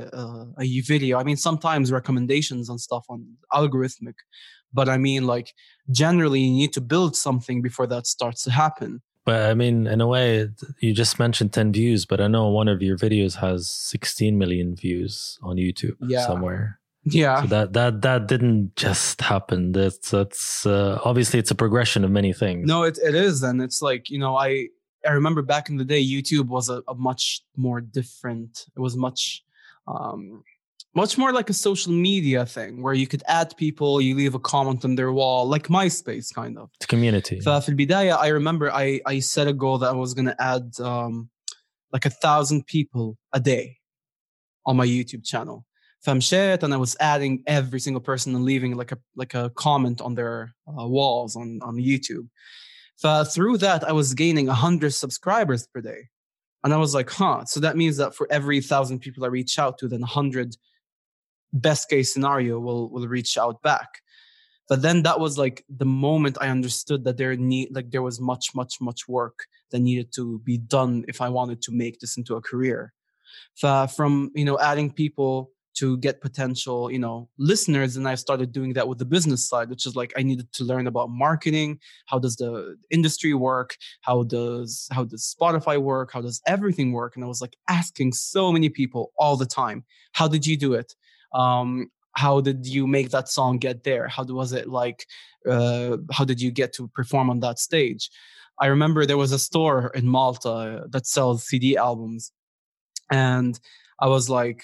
a video. I mean, sometimes recommendations and stuff on algorithmic, but I mean, like, generally you need to build something before that starts to happen. But I mean, in a way, you just mentioned ten views, but I know one of your videos has sixteen million views on YouTube yeah. somewhere. Yeah. So that, that, that didn't just happen. That's, that's uh, obviously it's a progression of many things. No, it, it is. And it's like, you know, I, I remember back in the day, YouTube was a, a much more different, it was much, um, much more like a social media thing where you could add people, you leave a comment on their wall, like MySpace kind of. It's community. ففي البداية, I remember I, I set a goal that I was going to add um, like a thousand people a day on my YouTube channel. فمشيت and I was adding every single person and leaving like a like a comment on their uh, walls on, on YouTube. So through that, I was gaining one hundred subscribers per day. And I was like, huh, so that means that for every one thousand people I reach out to, then one hundred best case scenario will will reach out back. But then that was like the moment I understood that there need like there was much much much work that needed to be done if I wanted to make this into a career. So from, you know, adding people to get potential, you know, listeners, and I started doing that with the business side, which is like I needed to learn about marketing. How does the industry work? How does how does Spotify work? How does everything work? And I was like asking so many people all the time, how did you do it? Um, how did you make that song get there? How was it like? Uh, how did you get to perform on that stage? I remember there was a store in Malta that sells C D albums, and I was like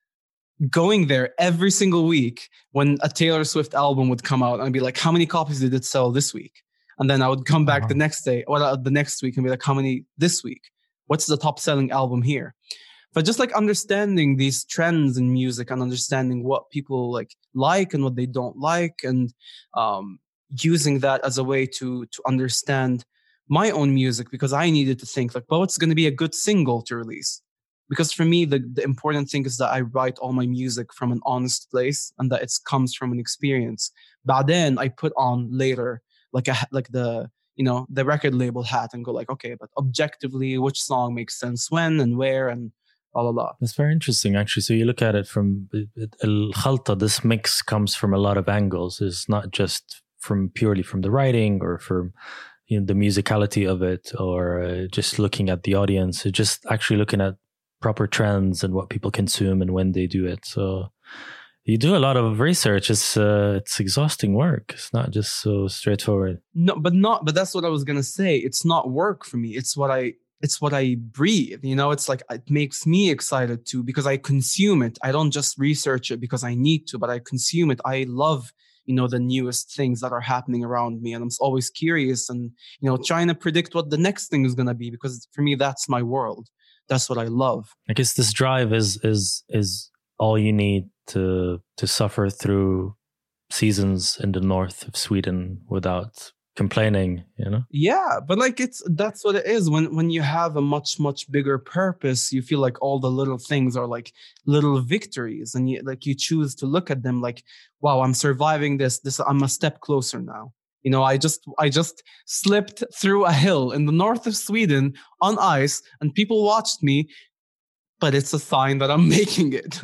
going there every single week when a Taylor Swift album would come out, and I'd be like, how many copies did it sell this week? And then I would come back uh-huh. the next day, or the next week, and be like, how many this week? What's the top selling album here? But just like understanding these trends in music and understanding what people like like and what they don't like, and um, using that as a way to to understand my own music, because I needed to think like, well, what's going to be a good single to release? Because for me, the, the important thing is that I write all my music from an honest place and that it comes from an experience. But then I put on later like a like the you know the record label hat and go like, okay, but objectively, which song makes sense when and where and blah, blah, blah. That's very interesting, actually. So you look at it from al-khalta, this mix comes from a lot of angles. It's not just from purely from the writing or from, you know, the musicality of it, or uh, just looking at the audience. It's just actually looking at proper trends and what people consume and when they do it. So you do a lot of research. It's uh, it's exhausting work. It's not just so straightforward. No, but not. But that's what I was gonna say. It's not work for me. It's what I. It's what I breathe. You know, it's like it makes me excited too because I consume it. I don't just research it because I need to, but I consume it. I love you know, the newest things that are happening around me. And I'm always curious and, you know, trying to predict what the next thing is going to be, because for me, that's my world. That's what I love. I guess this drive is is is all you need to to suffer through seasons in the north of Sweden without complaining, you know? Yeah, but like it's that's what it is. When when you have a much much bigger purpose, you feel like all the little things are like little victories, and you like you choose to look at them like, wow, I'm surviving this. This I'm a step closer now. You know, I just I just slipped through a hill in the north of Sweden on ice, and people watched me, but it's a sign that I'm making it.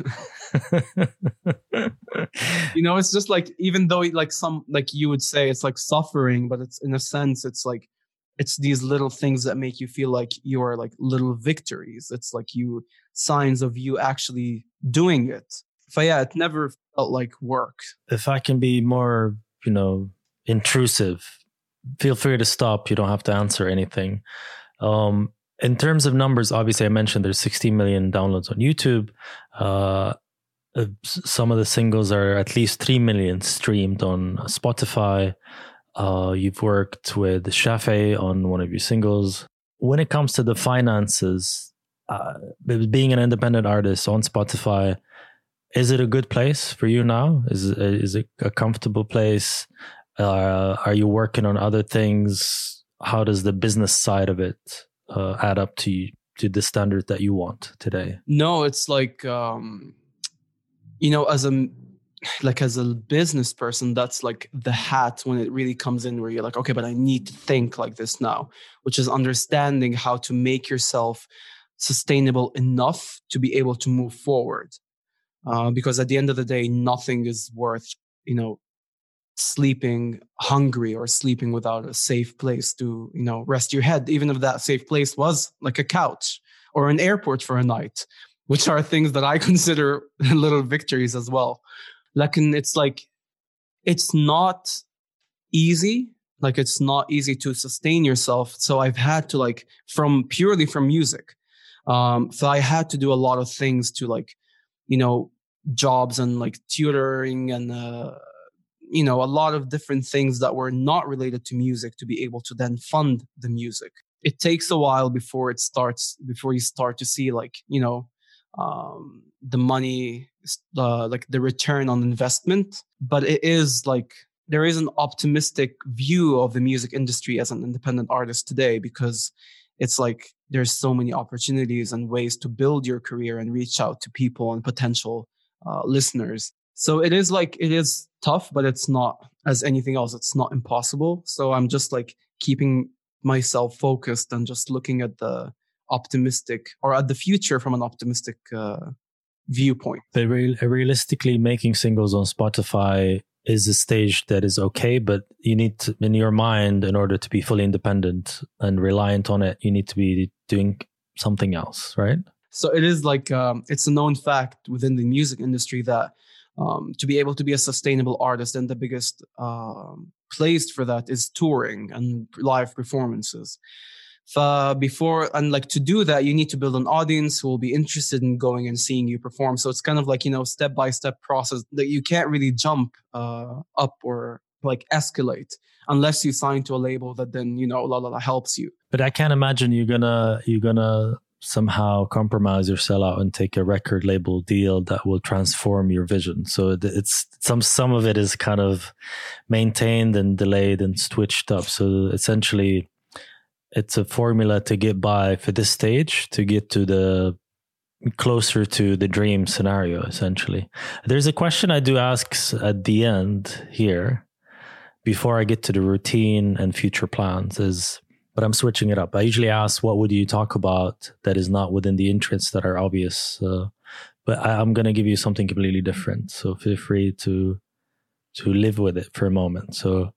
You know, it's just like, even though like some, like you would say it's like suffering, but it's in a sense, it's like, it's these little things that make you feel like you are like little victories. It's like you, signs of you actually doing it. So yeah, it never felt like work. If I can be more, you know, intrusive, feel free to stop. You don't have to answer anything. Um, in terms of numbers, obviously I mentioned there's sixty million downloads on YouTube. Uh, Uh, some of the singles are at least three million streamed on Spotify. Uh, you've worked with Shafe on one of your singles. When it comes to the finances, uh, being an independent artist on Spotify, is it a good place for you now? Is, is it a comfortable place? Uh, are you working on other things? How does the business side of it uh, add up to you, to the standard that you want today? No, it's like... Um... You know, as a like as a business person, that's like the hat when it really comes in, where you're like, okay, but I need to think like this now, which is understanding how to make yourself sustainable enough to be able to move forward. Uh, because at the end of the day, nothing is worth, you know, sleeping hungry or sleeping without a safe place to, you know, rest your head, even if that safe place was like a couch or an airport for a night, which are things that I consider little victories as well. Like, and it's like, it's not easy. Like, it's not easy to sustain yourself. So I've had to like, from purely from music. Um, so I had to do a lot of things to like, you know, jobs and like tutoring and, uh, you know, a lot of different things that were not related to music to be able to then fund the music. It takes a while before it starts, before you start to see like, you know, um the money, uh, like the return on investment. But it is like, there is an optimistic view of the music industry as an independent artist today, because it's like there's so many opportunities and ways to build your career and reach out to people and potential uh, listeners. So it is like, it is tough, but it's not, as anything else, it's not impossible. So I'm just like keeping myself focused and just looking at the optimistic, or at the future from an optimistic uh, viewpoint. But re- realistically, making singles on Spotify is a stage that is okay, but you need to, in your mind, in order to be fully independent and reliant on it, you need to be doing something else, right? So it is like, um, it's a known fact within the music industry that um, to be able to be a sustainable artist, and the biggest um, place for that is touring and live performances. Uh, before and like to do that, you need to build an audience who will be interested in going and seeing you perform. So it's kind of like, you know, step by step process that you can't really jump uh, up or like escalate unless you sign to a label that then, you know, la la la helps you. But I can't imagine you're gonna you're gonna somehow compromise or sell out and take a record label deal that will transform your vision. So it's some some of it is kind of maintained and delayed and switched up. So essentially, it's a formula to get by for this stage, to get to the closer to the dream scenario, essentially. There's a question I do ask at the end here, before I get to the routine and future plans, is, but I'm switching it up. I usually ask, what would you talk about that is not within the interests that are obvious? Uh, but I, I'm going to give you something completely different. So feel free to to live with it for a moment. So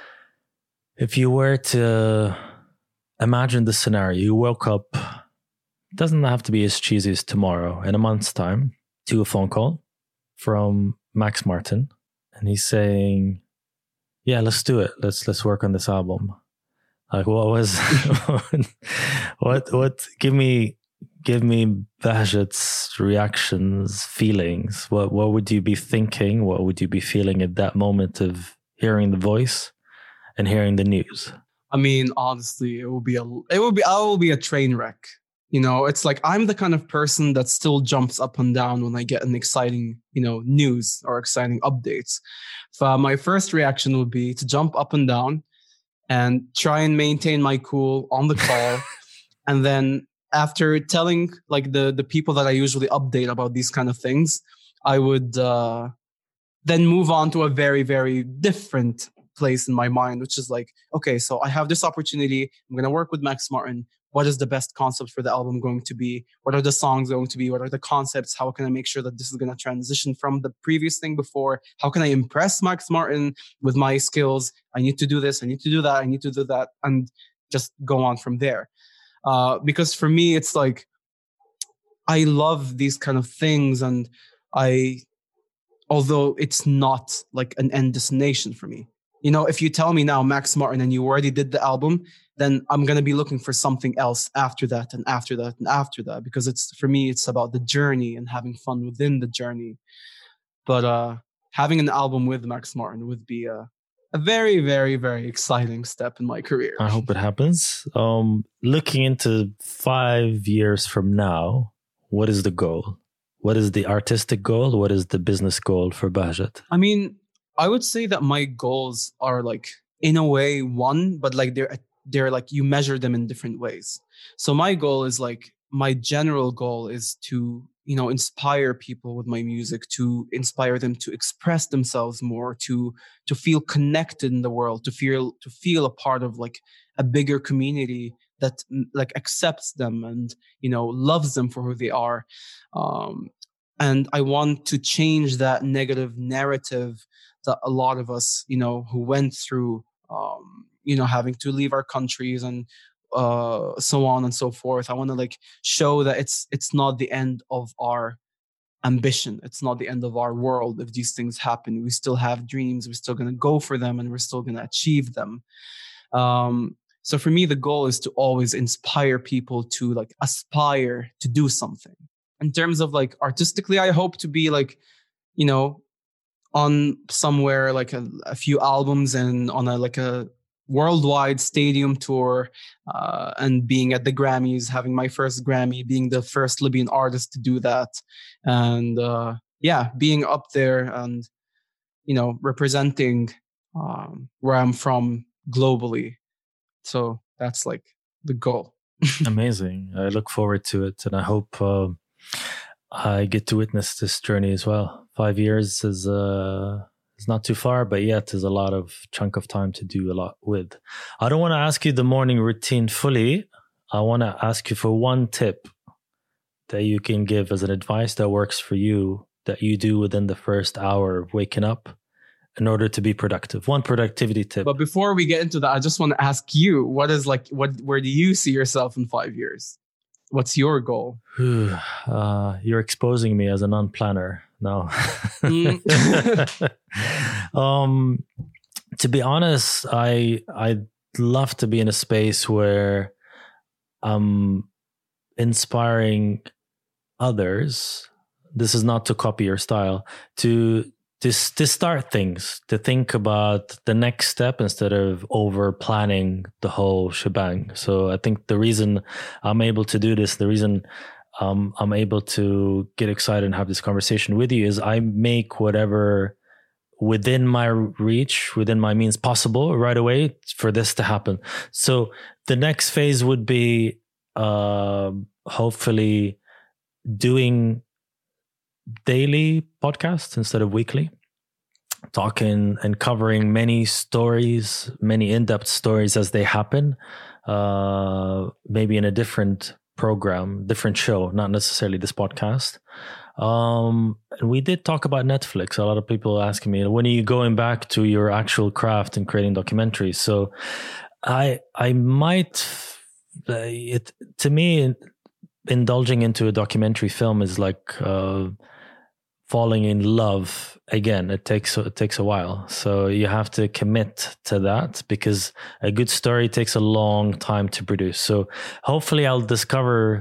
if you were to imagine the scenario, you woke up, it doesn't have to be as cheesy as tomorrow, in a month's time, to a phone call from Max Martin, and he's saying, yeah, let's do it. Let's let's work on this album. Like, what was what what give me give me Bahjat's reactions, feelings. What what would you be thinking? What would you be feeling at that moment of hearing the voice and hearing the news? I mean, honestly, it will be a it will be I will be a train wreck. You know, it's like I'm the kind of person that still jumps up and down when I get an exciting, you know, news or exciting updates. So my first reaction would be to jump up and down and try and maintain my cool on the call. And then after telling like the, the people that I usually update about these kind of things, I would uh, then move on to a very, very different place in my mind, which is like, okay, so I have this opportunity. I'm going to work with Max Martin. What is the best concept for the album going to be? What are the songs going to be? What are the concepts? How can I make sure that this is going to transition from the previous thing before? How can I impress Max Martin with my skills? I need to do this. I need to do that. I need to do that. And just go on from there. Uh, because for me, it's like, I love these kind of things. And I, although it's not like an end destination for me, you know, if you tell me now Max Martin and you already did the album, then I'm going to be looking for something else after that and after that and after that, because it's, for me, it's about the journey and having fun within the journey. But uh, having an album with Max Martin would be a, a very, very, very exciting step in my career. I hope it happens. Um, looking into five years from now, what is the goal? What is the artistic goal? What is the business goal for Bahjat? I mean, I would say that my goals are like, in a way, one, but like they're they're like you measure them in different ways. So my goal is like, my general goal is to, you know, inspire people with my music, to inspire them to express themselves more, to to feel connected in the world, to feel to feel a part of like a bigger community that like accepts them and, you know, loves them for who they are. Um, and I want to change that negative narrative that a lot of us, you know, who went through, um, you know, having to leave our countries and uh, so on and so forth. I want to like show that it's it's not the end of our ambition. It's not the end of our world. If these things happen, we still have dreams. We're still going to go for them, and we're still going to achieve them. Um, so for me, the goal is to always inspire people to like aspire to do something. In terms of like artistically, I hope to be like, you know, on somewhere like a, a few albums and on a like a worldwide stadium tour, uh, and being at the Grammys, having my first Grammy, being the first Libyan artist to do that, and uh, yeah, being up there and, you know, representing um, where I'm from globally. So that's like the goal. Amazing. I look forward to it, and I hope uh, I get to witness this journey as well. Five years is uh, is not too far, but yet is a lot of chunk of time to do a lot with. I don't want to ask you the morning routine fully. I want to ask you for one tip that you can give as an advice that works for you, that you do within the first hour of waking up in order to be productive. One productivity tip. But before we get into that, I just want to ask you, what is like, what, where do you see yourself in five years? What's your goal? uh, you're exposing me as a non-planner. No. Mm. um, to be honest, I I'd love to be in a space where I'm inspiring others. This is not to copy your style. To to to start things, to think about the next step instead of over planning the whole shebang. So I think the reason I'm able to do this, the reason um, I'm able to get excited and have this conversation with you, is I make whatever within my reach, within my means possible right away for this to happen. So the next phase would be uh, hopefully doing daily podcasts instead of weekly, talking and covering many stories, many in-depth stories as they happen, uh, maybe in a different program, different show, not necessarily this podcast. Um, and we did talk about Netflix. A lot of people asking me, when are you going back to your actual craft and creating documentaries? So I, I might, uh, it, to me, indulging into a documentary film is like, uh, falling in love again. It takes it takes a while, so you have to commit to that, because a good story takes a long time to produce. So hopefully I'll discover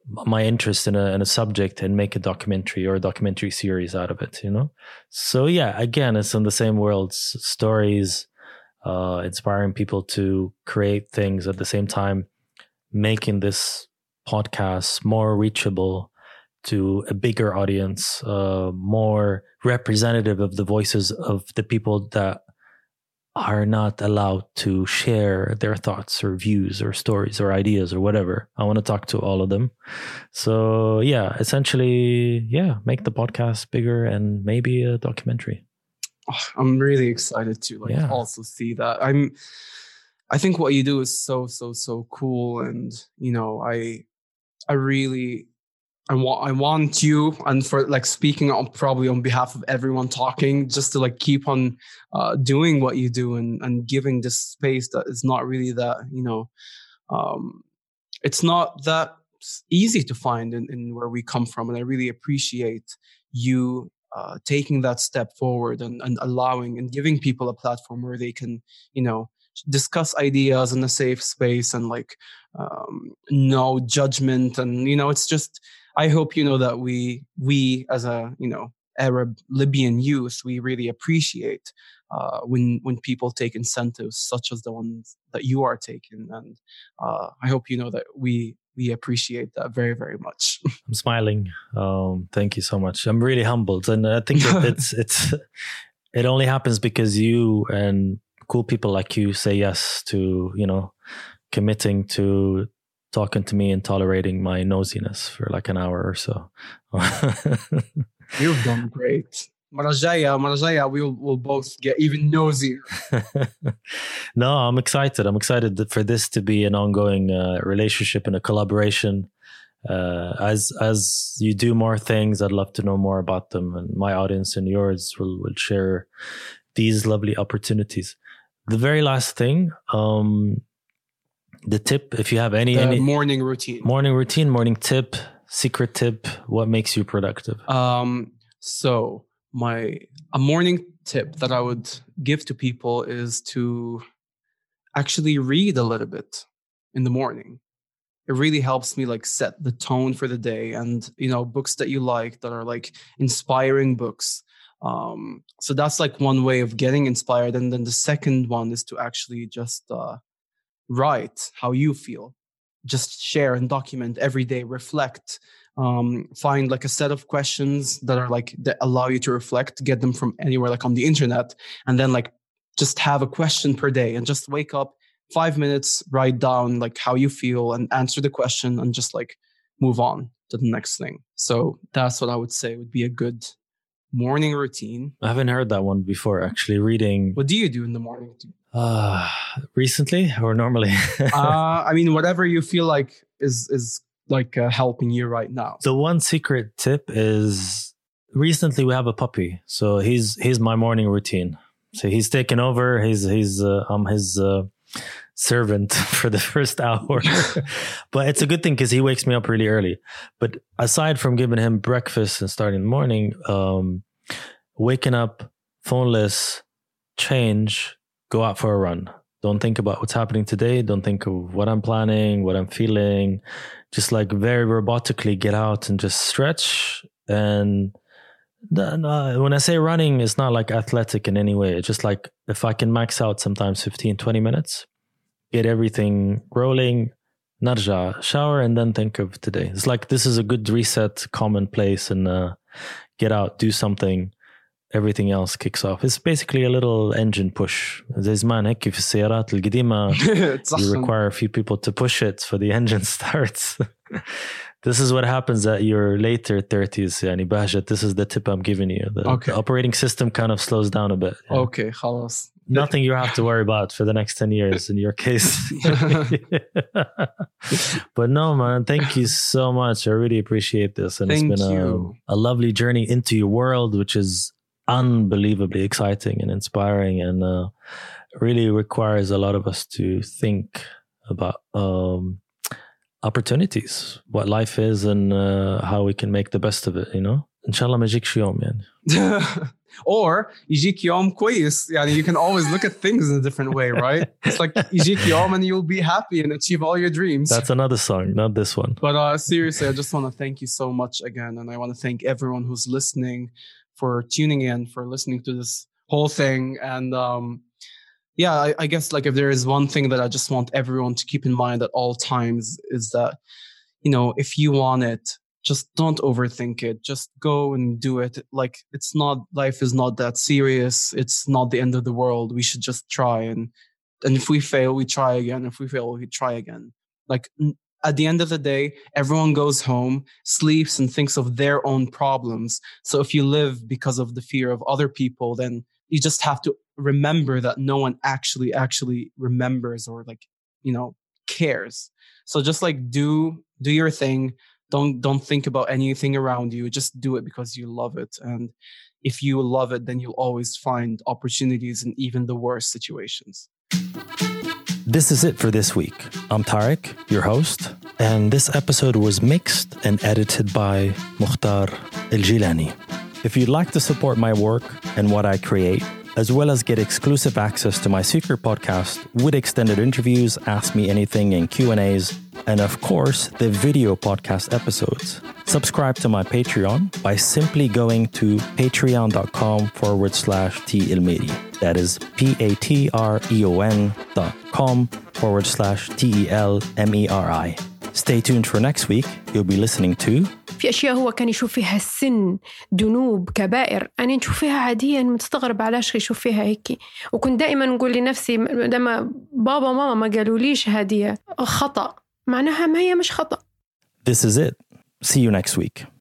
my interest in a in a subject and make a documentary or a documentary series out of it, you know? So yeah, again, it's in the same world, s- stories, uh, inspiring people to create things at the same time, making this podcast more reachable to a bigger audience, uh, more representative of the voices of the people that are not allowed to share their thoughts or views or stories or ideas or whatever. I want to talk to all of them. So yeah, essentially, yeah, make the podcast bigger and maybe a documentary. Oh, I'm really excited to like Yeah. also see that. I'm I think what you do is so so so cool, and you know, I I really I want I want you, and for like speaking on probably on behalf of everyone talking, just to like keep on uh, doing what you do, and and giving this space that is not really that, you know, um, it's not that s- easy to find in, in where we come from, and I really appreciate you uh, taking that step forward, and, and allowing and giving people a platform where they can, you know, discuss ideas in a safe space, and like um, no judgment, and you know, it's just, I hope you know that we we as a, you know, Arab Libyan youth, we really appreciate uh, when when people take incentives such as the ones that you are taking, and uh, I hope you know that we we appreciate that very very much. I'm smiling. Um, thank you so much. I'm really humbled, and I think it, it's it's it only happens because you and cool people like you say yes to, you know, committing to talking to me and tolerating my nosiness for like an hour or so. You've done great. مرة جاية مرة جاية we'll we'll both get even nosier. No, I'm excited. I'm excited that for this to be an ongoing uh, relationship and a collaboration. Uh, as as you do more things, I'd love to know more about them, and my audience and yours will will share these lovely opportunities. The very last thing, um, the tip, if you have any, The any morning routine. morning routine, morning tip, secret tip, what makes you productive? Um, so my a morning tip that I would give to people is to actually read a little bit in the morning. It really helps me like set the tone for the day, and you know, books that you like that are like inspiring books. Um, so that's like one way of getting inspired, and then the second one is to actually just uh, write how you feel. Just share and document every day, reflect, um, find like a set of questions that are like that allow you to reflect, get them from anywhere like on the internet, and then like just have a question per day, and just wake up five minutes, write down like how you feel and answer the question, and just like move on to the next thing. So that's what I would say would be a good morning routine. I haven't heard that one before, actually. Reading What do you do in the morning? uh, recently or normally? uh, I mean, whatever you feel like is is like uh, helping you right now. The one secret tip is recently we have a puppy, so he's he's my morning routine. So he's taken over. He's he's uh, I'm his uh, servant for the first hour, but it's a good thing because he wakes me up really early. But aside from giving him breakfast and starting the morning, um, waking up, phoneless, change, go out for a run. Don't think about what's happening today. Don't think of what I'm planning, what I'm feeling. Just like very robotically get out and just stretch. And then, uh, when I say running, it's not like athletic in any way. It's just like if I can max out sometimes fifteen, twenty minutes, get everything rolling, narja, shower, and then think of today. It's like this is a good reset, common place, and uh, get out, do something. Everything else kicks off. It's basically a little engine push. زي زمان هيك في السيارات القديمة you require a few people to push it for the engine starts. This is what happens at your later thirties. يعني Bahjat, this is the tip I'm giving you. The, okay. the operating system kind of slows down a bit. Yeah. Okay, خلاص. Nothing you have to worry about for the next ten years in your case. But no, man, thank you so much. I really appreciate this. And thank it's been you. a, a lovely journey into your world, which is unbelievably exciting and inspiring, and uh, really requires a lot of us to think about um, opportunities, what life is, and uh, how we can make the best of it, you know? Inshallah ma yajik shi yawm, yani. or يجيك يوم كويس يعني you can always look at things in a different way, right? It's like يجيك يوم and you'll be happy and achieve all your dreams. That's another song, not this one. But uh, seriously, I just want to thank you so much again, and I want to thank everyone who's listening for tuning in, for listening to this whole thing. And um, yeah, I, I guess like if there is one thing that I just want everyone to keep in mind at all times is that, you know, if you want it, just don't overthink it. Just go and do it. Like, it's not, life is not that serious. It's not the end of the world. We should just try. And, and if we fail, we try again. If we fail, we try again. Like, at the end of the day, everyone goes home, sleeps, and thinks of their own problems. So if you live because of the fear of other people, then you just have to remember that no one actually, actually remembers or like, you know, cares. So just like do, do your thing. Don't don't think about anything around you. Just do it because you love it. And if you love it, then you'll always find opportunities in even the worst situations. This is it for this week. I'm Tarek, your host, and this episode was mixed and edited by Mukhtar El-Jilani. If you'd like to support my work and what I create, as well as get exclusive access to my secret podcast with extended interviews, Ask Me Anything, and Q and A's, and of course, the video podcast episodes, subscribe to my Patreon by simply going to patreon.com forward slash T Elmeri. That is P-A-T-R-E-O-N dot com forward slash T-E-L-M-E-R-I. Stay tuned for next week. You'll be listening to في أشياء هو كان يشوف فيها السن، ذنوب، كبائر، أنا نشوف فيها عاديا، متستغرب علاش يشوف فيها هيك. وكنت دائما نقول لنفسي لما بابا وماما ما قالوا ليش هذه خطأ، معناها ما هي مش خطأ. This is it. See you next week.